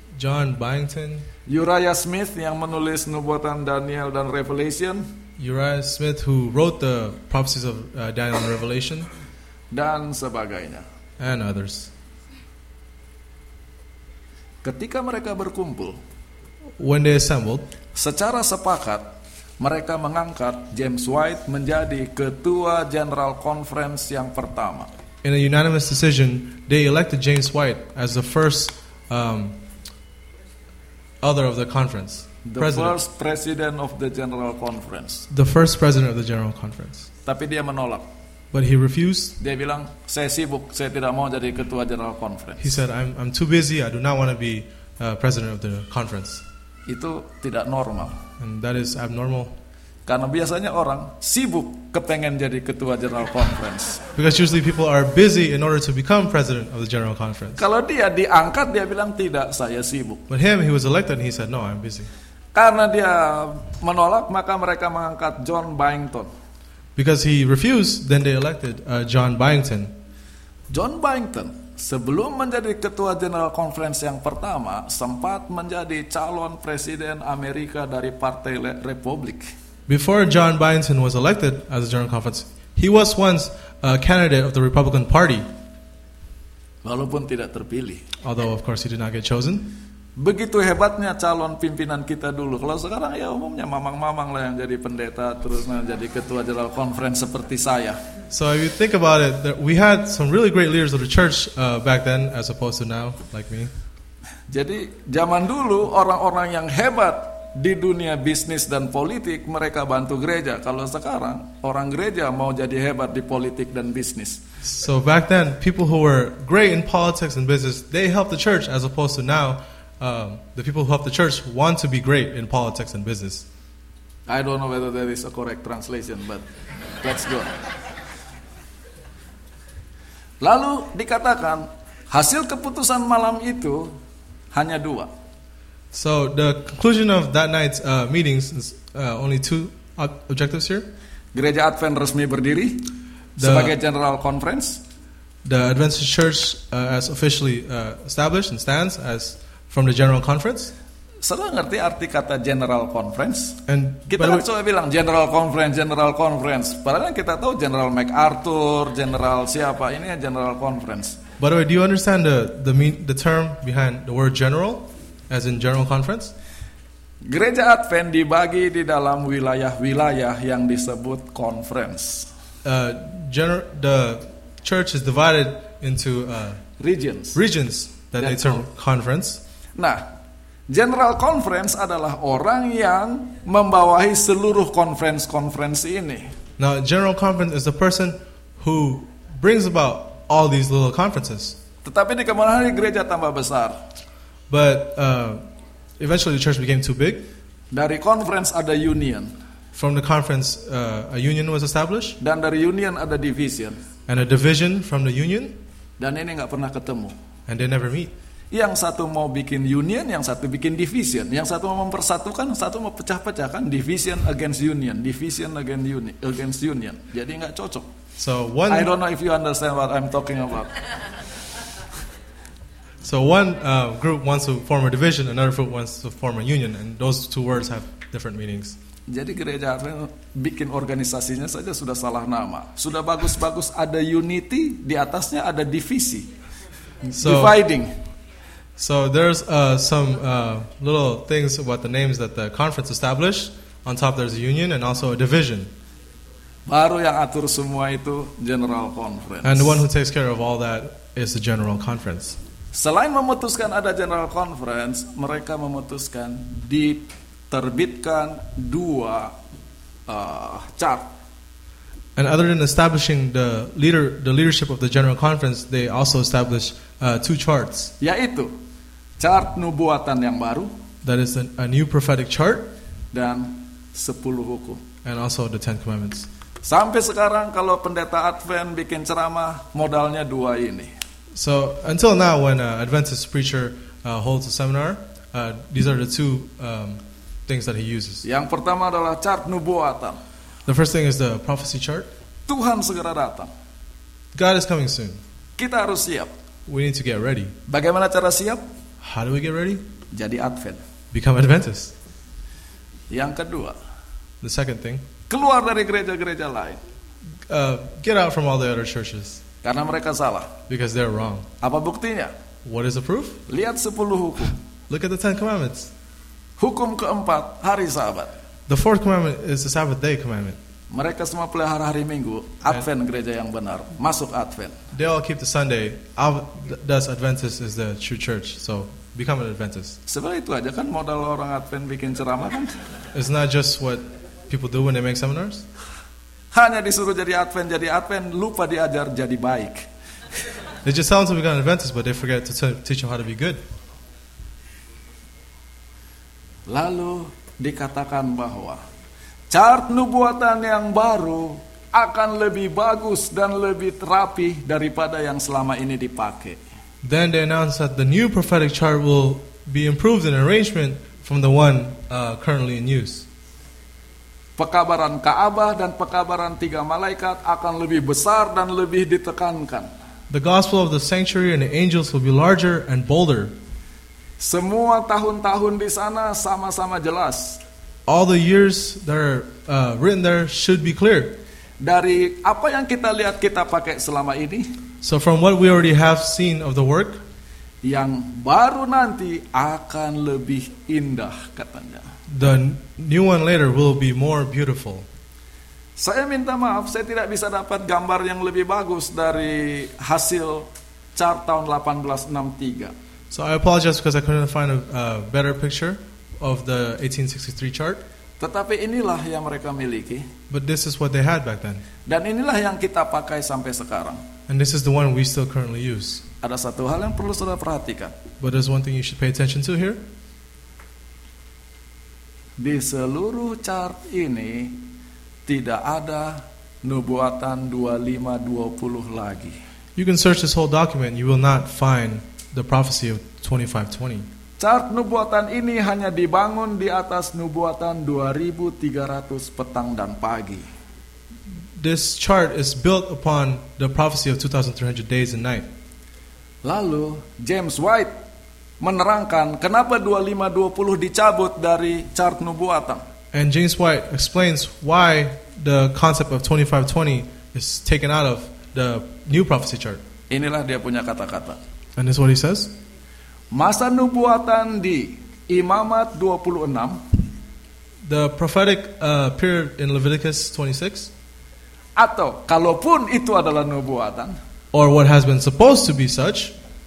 Uriah Smith yang menulis nubuatan Daniel dan Revelation, Uriah Smith who wrote the prophecies of Daniel and Revelation, dan sebagainya, and others. Ketika mereka berkumpul, when they assembled, secara sepakat mereka mengangkat James White menjadi ketua General Conference yang pertama. In a unanimous decision, they elected James White as the first elder of the conference. First president of the General Conference. The first president of the General Conference. Tapi dia menolak. But he refused. Dia bilang, saya sibuk, saya tidak mau jadi ketua General Conference. He said, I'm too busy, I do not want to be president of the conference. Itu tidak normal. And that is abnormal. Karena biasanya orang sibuk kepengen jadi ketua General Conference. Because usually people are busy in order to become president of the General Conference. Kalau dia diangkat, dia bilang tidak, saya sibuk. But him, he was elected and he said, no, I'm busy. Karena dia menolak, maka mereka mengangkat John Byington. Because he refused, then they elected John Byington. John Byington sebelum menjadi ketua General Conference yang pertama sempat menjadi calon presiden Amerika dari Partai Republik. Before John Byington was elected as a General Conference, he was once a candidate of the Republican Party. Walaupun tidak terpilih. Although of course he did not get chosen. Begitu hebatnya calon pimpinan kita dulu. Kalau sekarang ya umumnya mamang-mamang lah yang jadi pendeta terus jadi ketua General Conference seperti saya. So if you think about it, we had some really great leaders of the church back then as opposed to now, like me. Jadi zaman dulu orang-orang yang hebat di dunia bisnis dan politik mereka bantu gereja. Kalau sekarang orang gereja mau jadi hebat di politik dan bisnis. So back then, people who were great in politics and business, they helped the church, as opposed to now, the people who help the church want to be great in politics and business. I don't know whether there is a correct translation, but let's go. Lalu dikatakan hasil keputusan malam itu hanya 2. So the conclusion of that night's meetings is only 2 objectives here. Gereja Advent resmi berdiri sebagai General Conference. The Adventist Church as officially established and stands as from the General Conference. Saudara ngerti arti kata General Conference? And Kita kan coba bilang General Conference. Padahal kita tahu General MacArthur, General siapa, ini General Conference. By the way, do you understand the term behind the word general, as in General Conference? Gereja Advent dibagi di dalam wilayah-wilayah yang disebut conference. The church is divided into regions that they term conference. Nah, General Conference adalah orang yang membawahi seluruh conference ini. Now, General Conference is the person who brings about all these little conferences. Tetapi di kemudian hari gereja tambah besar. But eventually the church became too big. Dari conference ada union. From the conference, a union was established. Dan dari union ada division. And a division from the union. Dan ini nggak pernah ketemu. And they never meet. Yang satu mau bikin union, yang satu bikin division. Yang satu mau mempersatukan, yang satu mau pecah-pecahkan. Division against union, division against union. Jadi nggak cocok. So I don't know if you understand what I'm talking about. So one group wants to form a division, another group wants to form a union, and those two words have different meanings. Jadi gereja bikin organisasinya saja sudah salah nama. Sudah bagus-bagus ada unity, di atasnya ada divisi. Dividing. So there's some little things about the names that the conference established. On top there's a union and also a division. Baru yang atur semua itu General Conference. And the one who takes care of all that is the General Conference. Selain memutuskan ada General Conference, mereka memutuskan diterbitkan 2 chart. And other than establishing the leadership of the General Conference, they also established 2 charts. Yaitu chart nubuatan yang baru. That is a new prophetic chart. Dan 10 hukum. And also the 10 Commandments. Sampai sekarang kalau pendeta Advent bikin ceramah, modalnya 2 ini. So until now, when an Adventist preacher holds a seminar, these are the 2 things that he uses. Yang pertama adalah chart nubuatan. The first thing is the prophecy chart. Tuhan segera datang. God is coming soon. Kita harus siap. We need to get ready. Bagaimana cara siap? How do we get ready? Jadi Advent. Become Adventist. Yang kedua, the second thing, keluar dari gereja-gereja lain. Get out from all the other churches. Karena mereka salah. Because they're wrong. Apa buktinya? What is the proof? Lihat 10 hukum. Look at the 10 Commandments. Hukum keempat, hari Sabat. The 4th commandment is the Sabbath day commandment. Mereka semua pelihara hari Minggu. Advent gereja yang benar. Masuk Advent. They all keep the Sunday. Thus Adventist is the true church. So become an Adventist. Sebenarnya itu aja kan modal orang Advent bikin ceramah kan. It's not just what people do when they make seminars. Hanya disuruh jadi Advent, lupa diajar jadi baik. They just tell them to become an Adventist, but they forget to teach them how to be good. Lalu dikatakan bahwa chart nubuatan yang baru akan lebih bagus dan lebih rapi daripada yang selama ini dipakai. Then they announced that the new prophetic chart will be improved in arrangement from the one currently in use. Pekabaran Ka'bah dan pekabaran 3 malaikat akan lebih besar dan lebih ditekankan. The gospel of the sanctuary and the angels will be larger and bolder. Semua tahun-tahun di sana sama-sama jelas. All the years that are written there should be clear. Dari apa yang kita lihat kita pakai selama ini, so from what we already have seen of the work, yang baru nanti akan lebih indah katanya. The new one later will be more beautiful. Saya minta maaf, saya tidak bisa dapat gambar yang lebih bagus dari hasil chart tahun 1863. So I apologize because I couldn't find a better picture of the 1863 chart, Tetapi inilah yang mereka miliki, but this is what they had back then. dan inilah yang kita pakai sampai sekarang. And this is the one we still currently use. Ada satu hal yang perlu saudara perhatikan. But there's one thing you should pay attention to here. Di seluruh chart ini tidak ada nubuatan 25-20 lagi. You can search this whole document, you will not find the prophecy of 2520. Chart nubuatan ini hanya dibangun di atas nubuatan 2300 petang dan pagi. This chart is built upon the prophecy of 2300 days and night. Lalu James White menerangkan kenapa 25-20 dicabut dari chart nubuatan. And James White explains why the concept of 2520 is taken out of the new prophecy chart. Inilah dia punya kata-kata. And this is what he says. Masa nubuatan di Imamat 26, The prophetic period in Leviticus 26, atau kalaupun itu adalah nubuatan, or what has been supposed to be such,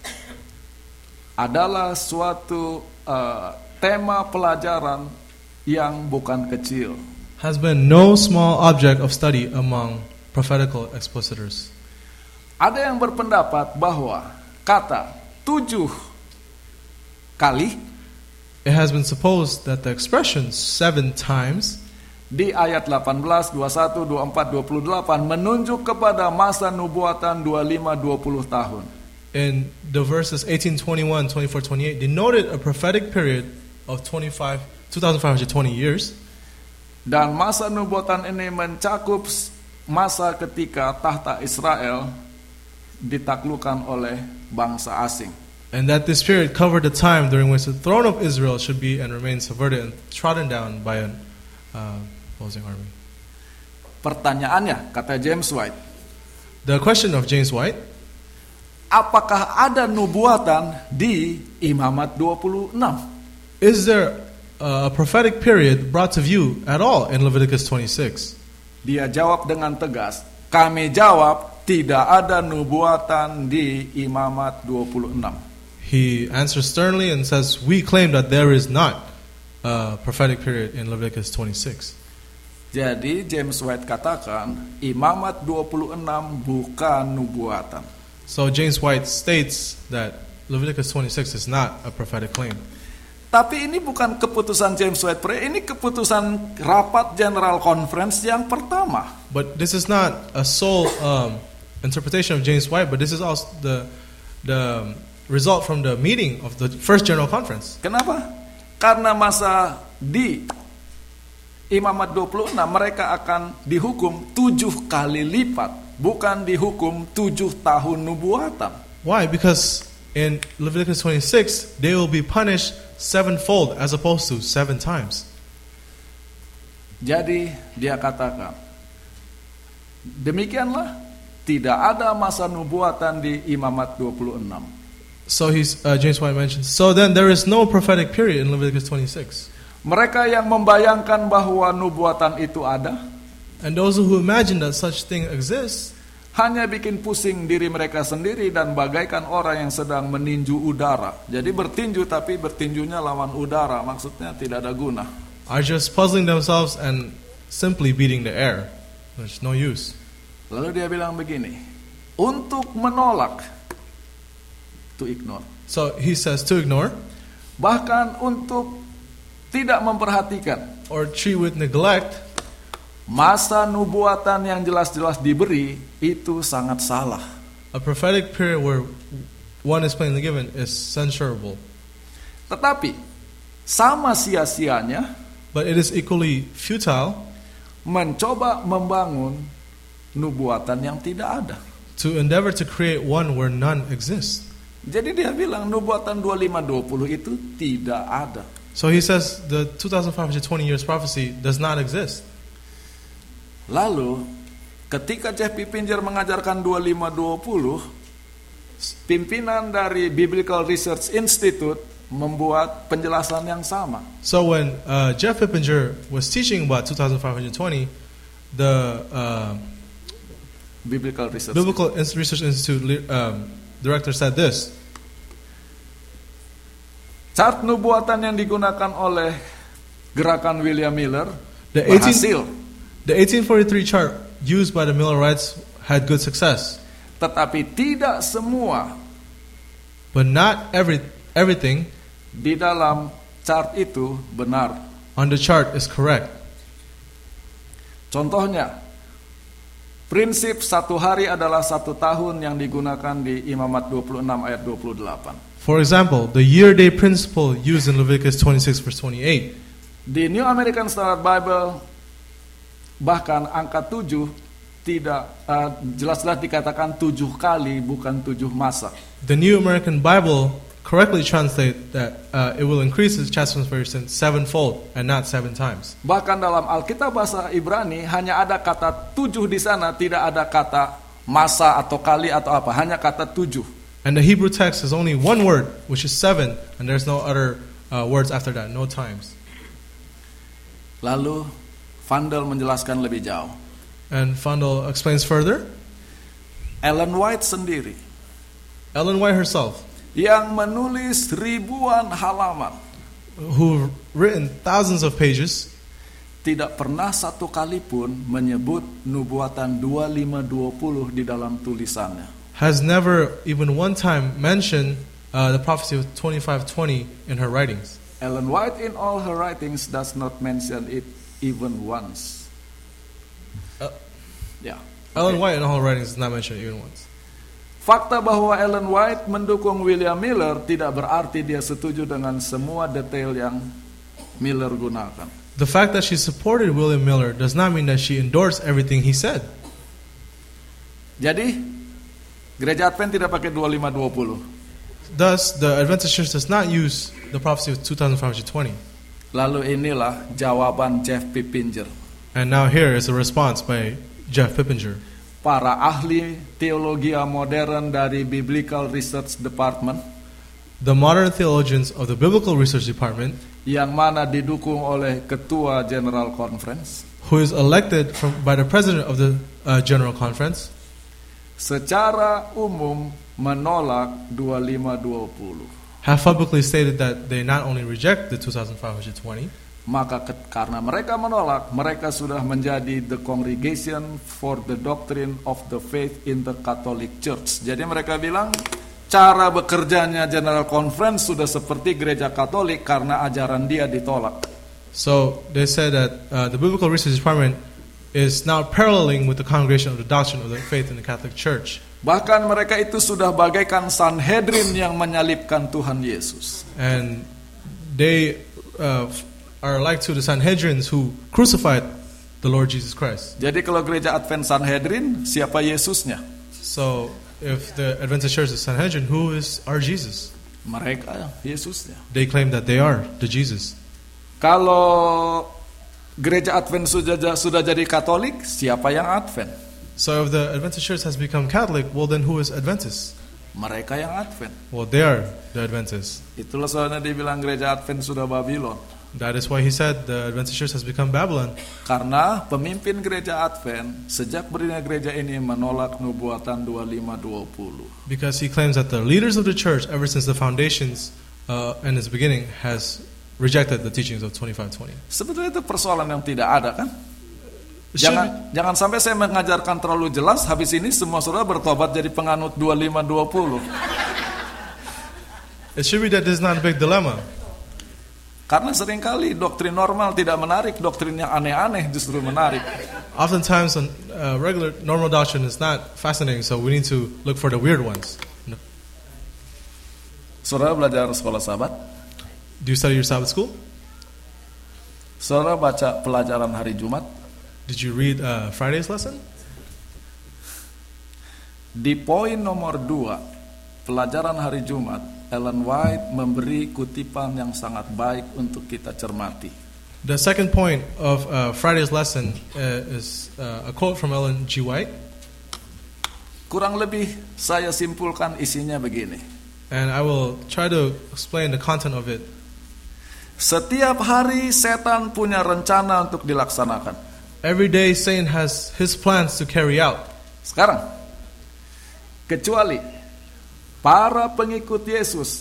adalah suatu tema pelajaran yang bukan kecil. has been no small object of study among prophetical expositors. Ada yang berpendapat bahwa kata 7 kali It has been supposed that the expression 7 times di ayat 18, 21, 24, 28 menunjuk kepada masa nubuatan 25-20 tahun. in the verses 18, 21, 24, 28 denoted a prophetic period of 2,520 years. Dan masa nubuatan ini mencakup masa ketika tahta Israel ditaklukkan oleh bangsa asing. And that this period covered the time during which the throne of Israel should be and remain subverted and trodden down by an opposing army. Pertanyaannya, kata James White, The question of James White, apakah ada nubuatan di Imamat 26? is there a prophetic period brought to view at all in Leviticus 26? Dia jawab dengan tegas, kami jawab tidak ada nubuatan di Imamat 26. He answers sternly and says, we claim that there is not a prophetic period in Leviticus 26. Jadi James White katakan Imamat 26 bukan nubuatan. So James White states that Leviticus 26 is not a prophetic claim. Tapi ini bukan keputusan James White, ini keputusan rapat General Conference yang pertama. But this is not a sole interpretation of James White, but this is also the result from the meeting of the first General Conference. Kenapa? Karena masa di Imamat 26 mereka akan dihukum 7 kali lipat, bukan dihukum 7 tahun nubuatan. Why? Because in Leviticus 26, they will be punished 7-fold as opposed to 7 times. Jadi dia katakan, demikianlah tidak ada masa nubuatan di Imamat 26. So James White mentions, so then there is no prophetic period in Leviticus 26. Mereka yang membayangkan bahwa nubuatan itu ada, And those who imagine that such thing exists hanya bikin pusing diri mereka sendiri dan bagaikan orang yang sedang meninju udara. Jadi bertinju tapi bertinjunya lawan udara, maksudnya tidak ada guna. are just puzzling themselves and simply beating the air. There's no use. Lalu dia bilang begini, untuk menolak, to ignore, So he says to ignore bahkan untuk tidak memperhatikan or treat with neglect masa nubuatan yang jelas-jelas diberi itu sangat salah. a prophetic period where one is plainly given is censurable. Tetapi sama sia-sianya But it is equally futile mencoba membangun nubuatan yang tidak ada. to endeavor to create one where none exists. Jadi dia bilang nubuatan 25-20 itu tidak ada. So he says the 2,520 years prophecy does not exist. Lalu ketika Jeff Pippinger mengajarkan 25-20, pimpinan dari Biblical Research Institute membuat penjelasan yang sama. So when Jeff Pippinger was teaching about 2,520, the Biblical Research Research Institute director said this. Chart nubuatan yang digunakan oleh gerakan William Miller The berhasil, 1843 chart used by the Millerites had good success, tetapi tidak semua but not everything di dalam chart itu benar. on the chart is correct. Contohnya, prinsip 1 hari adalah 1 tahun yang digunakan di Imamat 26 ayat 28. For example, the year-day principle used in Leviticus 26 verse 28. Di New American Standard Bible bahkan angka 7 tidak jelas-jelas dikatakan 7 kali, bukan 7 masa. The New American Bible correctly translate that it will increase its chastisement 7-fold and not 7 times. Bahkan dalam Alkitab bahasa Ibrani hanya ada kata 7 di sana, tidak ada kata masa atau kali atau apa, hanya kata 7. And the Hebrew text is only one word, which is 7, and there's no other words after that, no times. Lalu Vandal menjelaskan lebih jauh. And Vandal explains further. Ellen White sendiri Ellen White herself, yang menulis ribuan halaman, who written thousands of pages, tidak pernah satu kali pun menyebut nubuatan 2520 di dalam tulisannya. has never even one time mentioned the prophecy of 2520 in her writings. Ellen White in all her writings does not mention it even once. Ya. Ellen White in all her writings does not mention it even once. Fakta bahwa Ellen White mendukung William Miller tidak berarti dia setuju dengan semua detail yang Miller gunakan. The fact that she supported William Miller does not mean that she endorsed everything he said. Jadi, Gereja Advent tidak pakai 2520. Thus, the Adventist Church does not use the prophecy of 2520. Lalu inilah jawaban Jeff Pippinger. And now here is a response by Jeff Pippinger. Para ahli teologi modern dari Biblical Research Department, the modern theologians of the Biblical Research Department, yang mana didukung oleh Ketua General Conference, who is elected by the President of the General Conference, secara umum menolak 2520. have publicly stated that they not only reject the 2520, Maka karena mereka menolak, mereka sudah menjadi the Congregation for the Doctrine of the Faith in the Catholic Church. Jadi mereka bilang cara bekerjanya General Conference sudah seperti gereja Katolik karena ajaran dia ditolak. So they said that the Biblical Research Department is now paralleling with the Congregation of the Doctrine of the Faith in the Catholic Church. Bahkan mereka itu sudah bagaikan Sanhedrin yang menyalibkan Tuhan Yesus. And they are like to the Sanhedrins who crucified the Lord Jesus Christ. Jadi kalau gereja Advent Sanhedrin, siapa Yesusnya? So if the Adventist Church is Sanhedrin, who is our Jesus? Mereka Yesusnya. They claim that they are the Jesus. Kalau gereja Advent sudah jadi Katolik, siapa yang Advent? So if the Adventist Church has become Catholic, well then who is Adventist? Mereka yang Advent. Well, they are the Adventists. Itulah soalnya dibilang gereja Advent sudah Babylon. That is why he said the Adventist Church has become Babylon. Karena pemimpin gereja Advent sejak berdirinya gereja ini menolak nubuatan 2520. Because he claims that the leaders of the church, ever since the foundations and its beginning, has rejected the teachings of 2520. Sebetulnya itu persoalan yang tidak ada, kan? Jangan sampai saya mengajarkan terlalu jelas, habis ini semua saudara bertobat jadi penganut 2520. It should be that this is not a big dilemma. Karena seringkali doktrin normal tidak menarik, doktrin yang aneh-aneh justru menarik. Oftentimes, regular normal doctrine is not fascinating, so we need to look for the weird ones. Saudara belajar sekolah Sabat? Do you study your Sabbath school? Saudara baca pelajaran hari Jumat? Did you read Friday's lesson? Di poin nomor 2, pelajaran hari Jumat, Ellen White memberi kutipan yang sangat baik untuk kita cermati. The second point of Friday's lesson is a quote from Ellen G. White. Kurang lebih saya simpulkan isinya begini. And I will try to explain the content of it. Setiap hari setan punya rencana untuk dilaksanakan. Every day Satan has his plans to carry out. Sekarang, kecuali para pengikut Yesus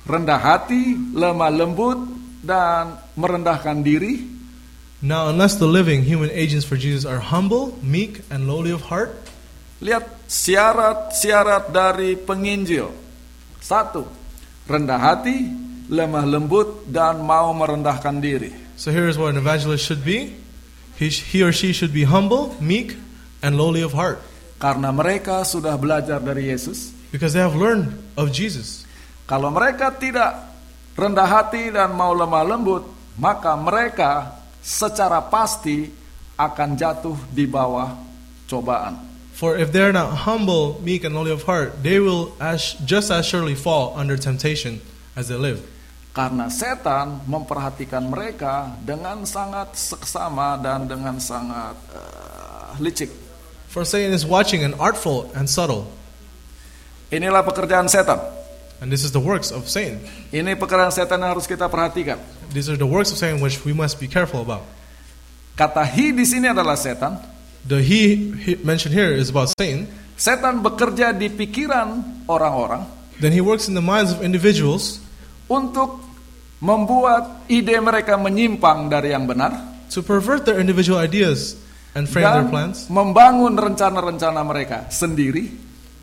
rendah hati, lemah lembut, dan merendahkan diri. Now, unless the living human agents for Jesus are humble, meek, and lowly of heart. Lihat syarat-syarat dari penginjil. 1. Rendah hati, lemah lembut, dan mau merendahkan diri. So here is what an evangelist should be. He or she should be humble, meek, and lowly of heart. Karena mereka sudah belajar dari Yesus. Because they have learned of Jesus. Kalau mereka tidak rendah hati dan mau lemah lembut, maka mereka secara pasti akan jatuh di bawah cobaan. For if they're not humble, meek, and lowly of heart, they will just as surely fall under temptation as they live. Karena setan memperhatikan mereka dengan sangat seksama dan dengan sangat licik. For Satan is watching and artful and subtle. Inilah pekerjaan setan. And this is the works of Satan. Ini pekerjaan setan yang harus kita perhatikan. These are the works of Satan which we must be careful about. Kata he di sini adalah setan. The he mentioned here is about Satan. Setan bekerja di pikiran orang-orang. Then he works in the minds of individuals untuk membuat ide mereka menyimpang dari yang benar. To pervert their individual ideas and frame their plans. Membangun rencana-rencana mereka sendiri.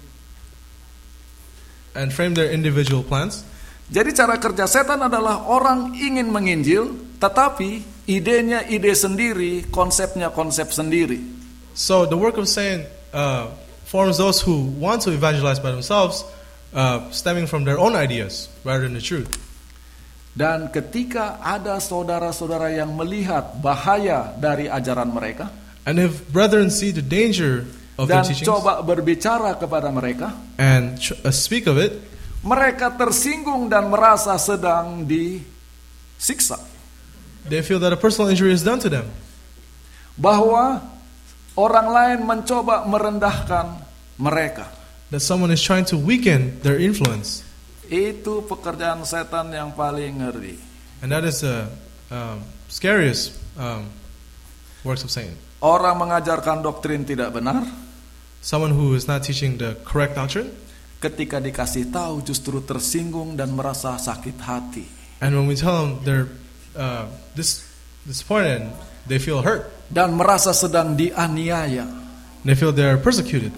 And frame their individual plans. Jadi cara kerja setan adalah orang ingin menginjil, tetapi idenya ide sendiri, konsepnya konsep sendiri. So the work of Satan forms those who want to evangelize by themselves, stemming from their own ideas rather than the truth. Dan ketika ada saudara-saudara yang melihat bahaya dari ajaran mereka, and if brethren see the danger of their dan teachings, coba berbicara kepada mereka, and speak of it, mereka tersinggung dan merasa sedang disiksa. They feel that a personal injury is done to them. Bahwa orang lain mencoba merendahkan mereka. That someone is trying to weaken their influence. Itu pekerjaan setan yang paling ngeri. And that is the scariest works of Satan. Orang mengajarkan doktrin tidak benar. Someone who is not teaching the correct doctrine. Ketika dikasih tahu justru tersinggung dan merasa sakit hati. And when we tell them they're disappointed, they feel hurt. Dan merasa sedang dianiaya. They feel they are persecuted.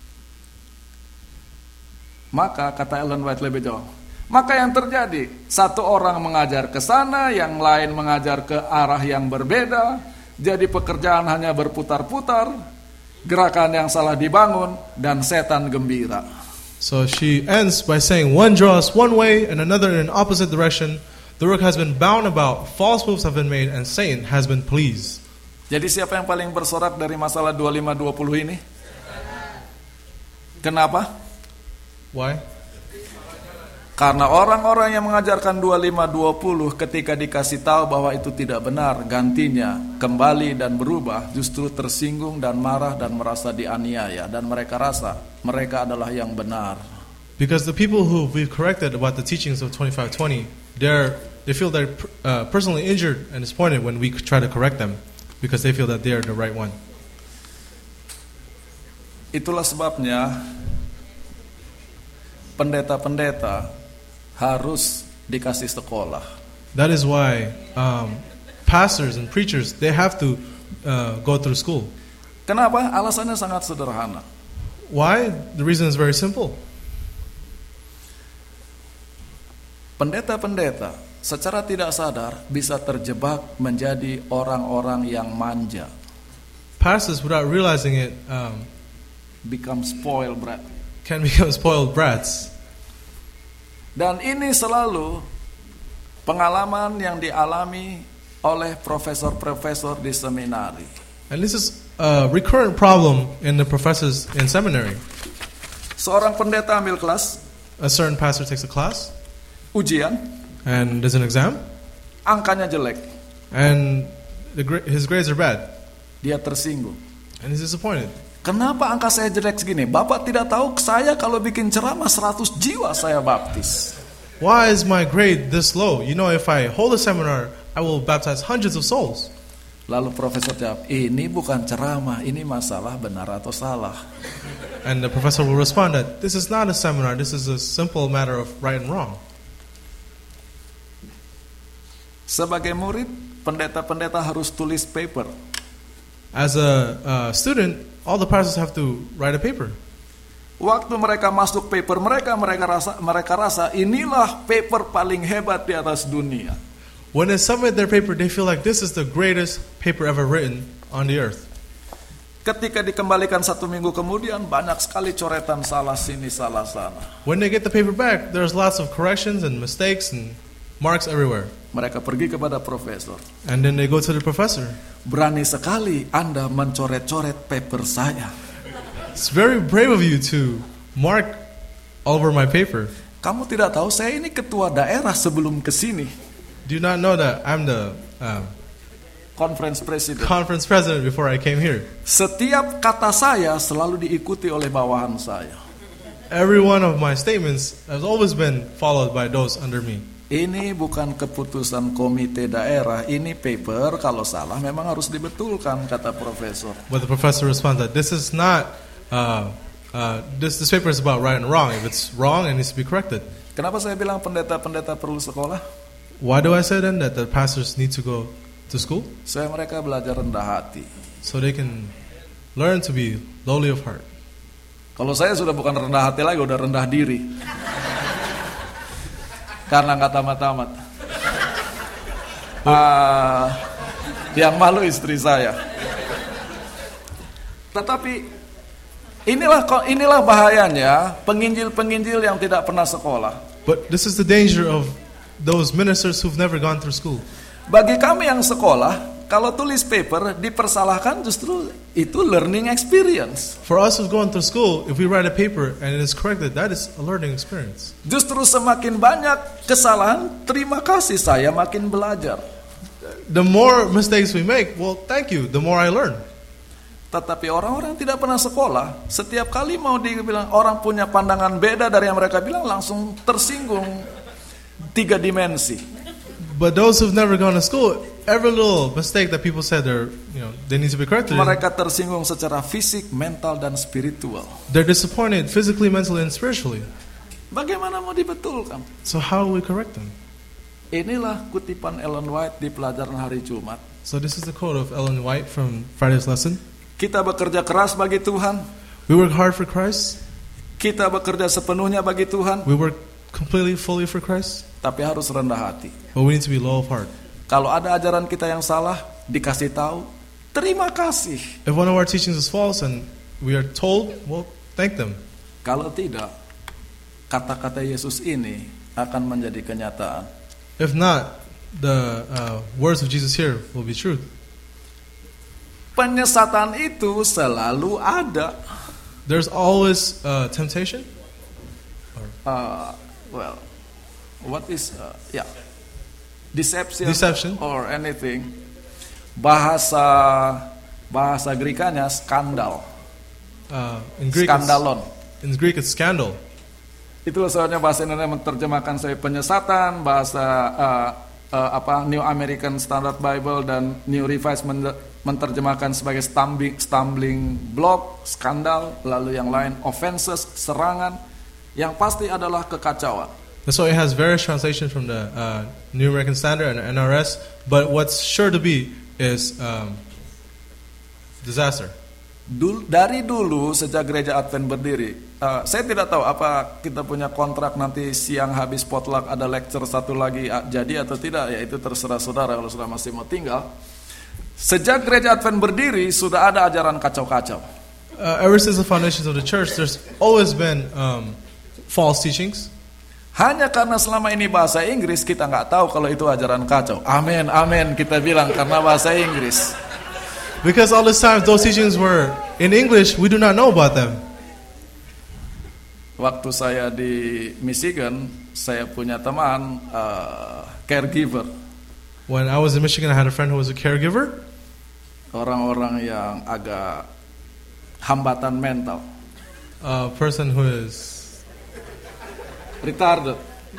Maka kata Ellen White lebih jauh. Maka yang terjadi, satu orang mengajar ke sana, yang lain mengajar ke arah yang berbeda. Jadi pekerjaan hanya berputar-putar, gerakan yang salah dibangun, dan setan gembira. So she ends by saying one draws one way and another in an opposite direction. The work has been bound about, false moves have been made, and Satan has been pleased. Jadi siapa yang paling bersorak dari masalah 25-20 ini? Kenapa? Why? Karena orang-orang yang mengajarkan 25-20 ketika dikasih tahu bahwa itu tidak benar, gantinya kembali dan berubah, justru tersinggung dan marah dan merasa dianiaya, dan mereka rasa mereka adalah yang benar. Because the people who we've corrected about the teachings of 25-20, they feel they're personally injured and disappointed when we try to correct them, because they feel that they are the right one. Itulah sebabnya pendeta-pendeta harus dikasih sekolah. That is why pastors and preachers, they have to go through school. Kenapa? Alasannya sangat sederhana. Why? The reason is very simple. Pendeta-pendeta secara tidak sadar bisa terjebak menjadi orang-orang yang manja. Pastors, without realizing it, become spoiled brat. Can become spoiled brats. Dan ini selalu pengalaman yang dialami oleh profesor-profesor di seminari. And this is a recurrent problem in the professors in seminary. Seorang pendeta ambil kelas. A certain pastor takes a class. Ujian. And there's an exam. Angkanya jelek. And his grades are bad. Dia tersinggung. And he's disappointed. Kenapa angka saya jelek segini? Bapak tidak tahu saya kalau bikin ceramah 100 jiwa saya baptis. Why is my grade this low? You know, if I hold a seminar, I will baptize hundreds of souls. Lalu profesor jawab, ini bukan ceramah, ini masalah benar atau salah. And the professor will respond that this is not a seminar, this is a simple matter of right and wrong. Sebagai murid, pendeta-pendeta harus tulis paper. As a student, all the pastors have to write a paper. Waktu mereka masuk paper mereka rasa inilah paper paling hebat di atas dunia. When they submit their paper, they feel like this is the greatest paper ever written on the earth. Ketika dikembalikan 1 minggu kemudian, banyak sekali coretan salah sini, salah sana. When they get the paper back, there's lots of corrections and mistakes and marks everywhere. Mereka pergi kepada profesor. And then they go to the professor. Berani sekali Anda mencoret-coret paper saya. It's very brave of you to mark all over my paper. Kamu tidak tahu saya ini ketua daerah sebelum kesini. Do you not know that I'm the Conference president. conference president before I came here? Setiap kata saya selalu diikuti oleh bawahan saya. Every one of my statements has always been followed by those under me. Ini bukan keputusan komite daerah, ini paper kalau salah memang harus dibetulkan, kata profesor. But the professor responds that this is not, this paper is about right and wrong. If it's wrong, it needs to be corrected. Kenapa saya bilang pendeta-pendeta perlu sekolah? Why do I say then that the pastors need to go to school? Supaya mereka belajar rendah hati. So they can learn to be lowly of heart. Kalau saya sudah bukan rendah hati lagi, udah rendah diri. Karena nggak tamat-tamat. Yang malu istri saya. Tetapi inilah bahayanya penginjil-penginjil yang tidak pernah sekolah. But this is the danger of those ministers who've never gone through school. Bagi kami yang sekolah, kalau tulis paper dipersalahkan, justru itu learning experience. For us who've gone through school, if we write a paper and it is corrected, that is a learning experience. Justru semakin banyak kesalahan, terima kasih saya makin belajar. The more mistakes we make, well, thank you, the more I learn. Tetapi orang-orang yang tidak pernah sekolah, setiap kali mau dibilang orang punya pandangan beda dari yang mereka bilang, langsung tersinggung 3 dimensi. But those who've never gone to school, every little mistake that people said they need to be corrected. Mereka tersinggung secara fisik, mental, dan spiritual. They're disappointed physically, mentally, and spiritually. Bagaimana mau dibetulkan? So how do we correct them? Inilah kutipan Ellen White di pelajaran hari Jumat. So this is the quote of Ellen White from Friday's lesson. Kita bekerja keras bagi Tuhan. We work hard for Christ. Kita bekerja sepenuhnya bagi Tuhan. We work completely, fully for Christ. Tapi harus rendah hati. But we need to be low of heart. Kalau ada ajaran kita yang salah, dikasih tahu, terima kasih. If one of our teachings is false and we are told, well, thank them. Kalau tidak, kata-kata Yesus ini akan menjadi kenyataan. If not, the words of Jesus here will be truth. Penyesatan itu selalu ada. There's always temptation. What is deception or anything. Bahasa Grekanya skandal. In Greek, skandalon. In Greek it's scandal. Itulah soalnya bahasa Indonesia menerjemahkan sebagai penyesatan, bahasa New American Standard Bible dan New Revised menerjemahkan sebagai stumbling block, skandal, lalu yang lain offenses, serangan, yang pasti adalah kekacauan. So it has various translations from the New American Standard and NRS, but what's sure to be is disaster. Dari dulu sejak gereja Advent berdiri, saya tidak tahu apa kita punya kontrak nanti siang habis potluck ada lecture satu lagi jadi atau tidak, ya itu terserah saudara kalau saudara masih mau tinggal. Sejak gereja Advent berdiri sudah ada ajaran kacau-kacau. Ever since the foundations of the church, there's always been false teachings. Hanya karena selama ini bahasa Inggris kita nggak tahu kalau itu ajaran kacau. Amin, amin kita bilang karena bahasa Inggris. Because all this time those teachings were in English, we do not know about them. Waktu saya di Michigan, saya punya teman caregiver. When I was in Michigan, I had a friend who was a caregiver. Orang-orang yang agak hambatan mental. A person who is retarded.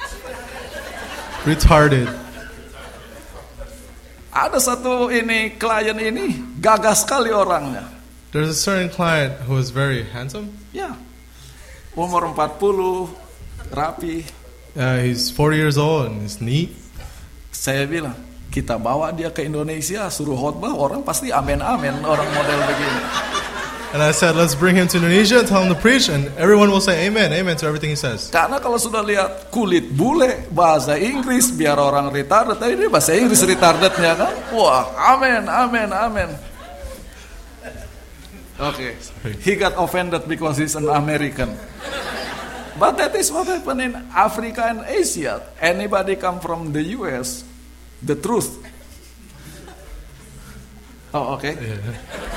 Ada satu klien ini gagah sekali orangnya. There's a certain client who is very handsome. Ya. Umur 40, rapi. He's 40 years old and he's neat. Saya bilang, Kita bawa dia ke Indonesia, suruh khotbah, orang pasti amin-amin, orang model begini. And I said, let's bring him to Indonesia and tell him to preach, and everyone will say amen, amen to everything he says. Karena kalau sudah lihat kulit bule, bahasa Inggris, biar orang retarded, tapi ini bahasa Inggris retardednya kan, wah, amen, amen, amen. Okay, he got offended because he's an American. But that is what happened in Africa and Asia. Anybody come from the US, the truth. Oh, okay. Yeah.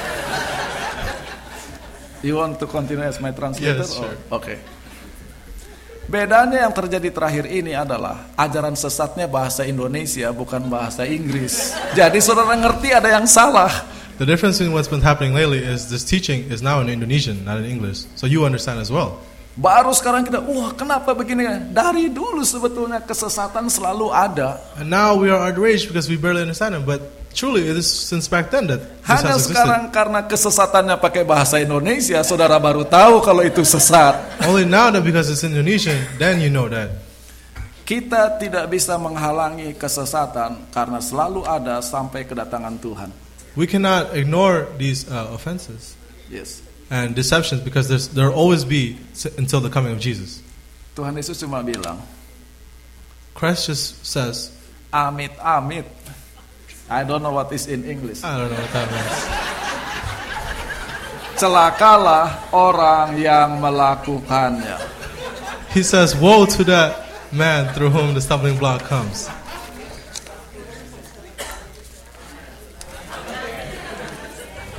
You want to continue as my translator? Yes, sure. Okay. Bedanya yang terjadi terakhir ini adalah ajaran sesatnya bahasa Indonesia bukan bahasa Inggris. Jadi saudara ngerti ada yang salah. The difference in what's been happening lately is this teaching is now in Indonesian, not in English. So you understand as well. Baru sekarang kita, wah kenapa begini? Dari dulu sebetulnya kesesatan selalu ada. And now we are outraged because we barely understand it. But truly, it is since back then that this Hanya has sekarang existed. karena kesesatannya pakai bahasa Indonesia, saudara baru tahu kalau itu sesat. Only now that because it's Indonesian, then you know that. Kita tidak bisa menghalangi kesesatan karena selalu ada sampai kedatangan Tuhan. We cannot ignore these offenses Yes. and deceptions because there will always be until the coming of Jesus. Tuhan Yesus cuma bilang, Christ just says, amit amit. I don't know what is in English. I don't know what that means. Celakalah orang yang melakukannya. He says, woe to that man through whom the stumbling block comes.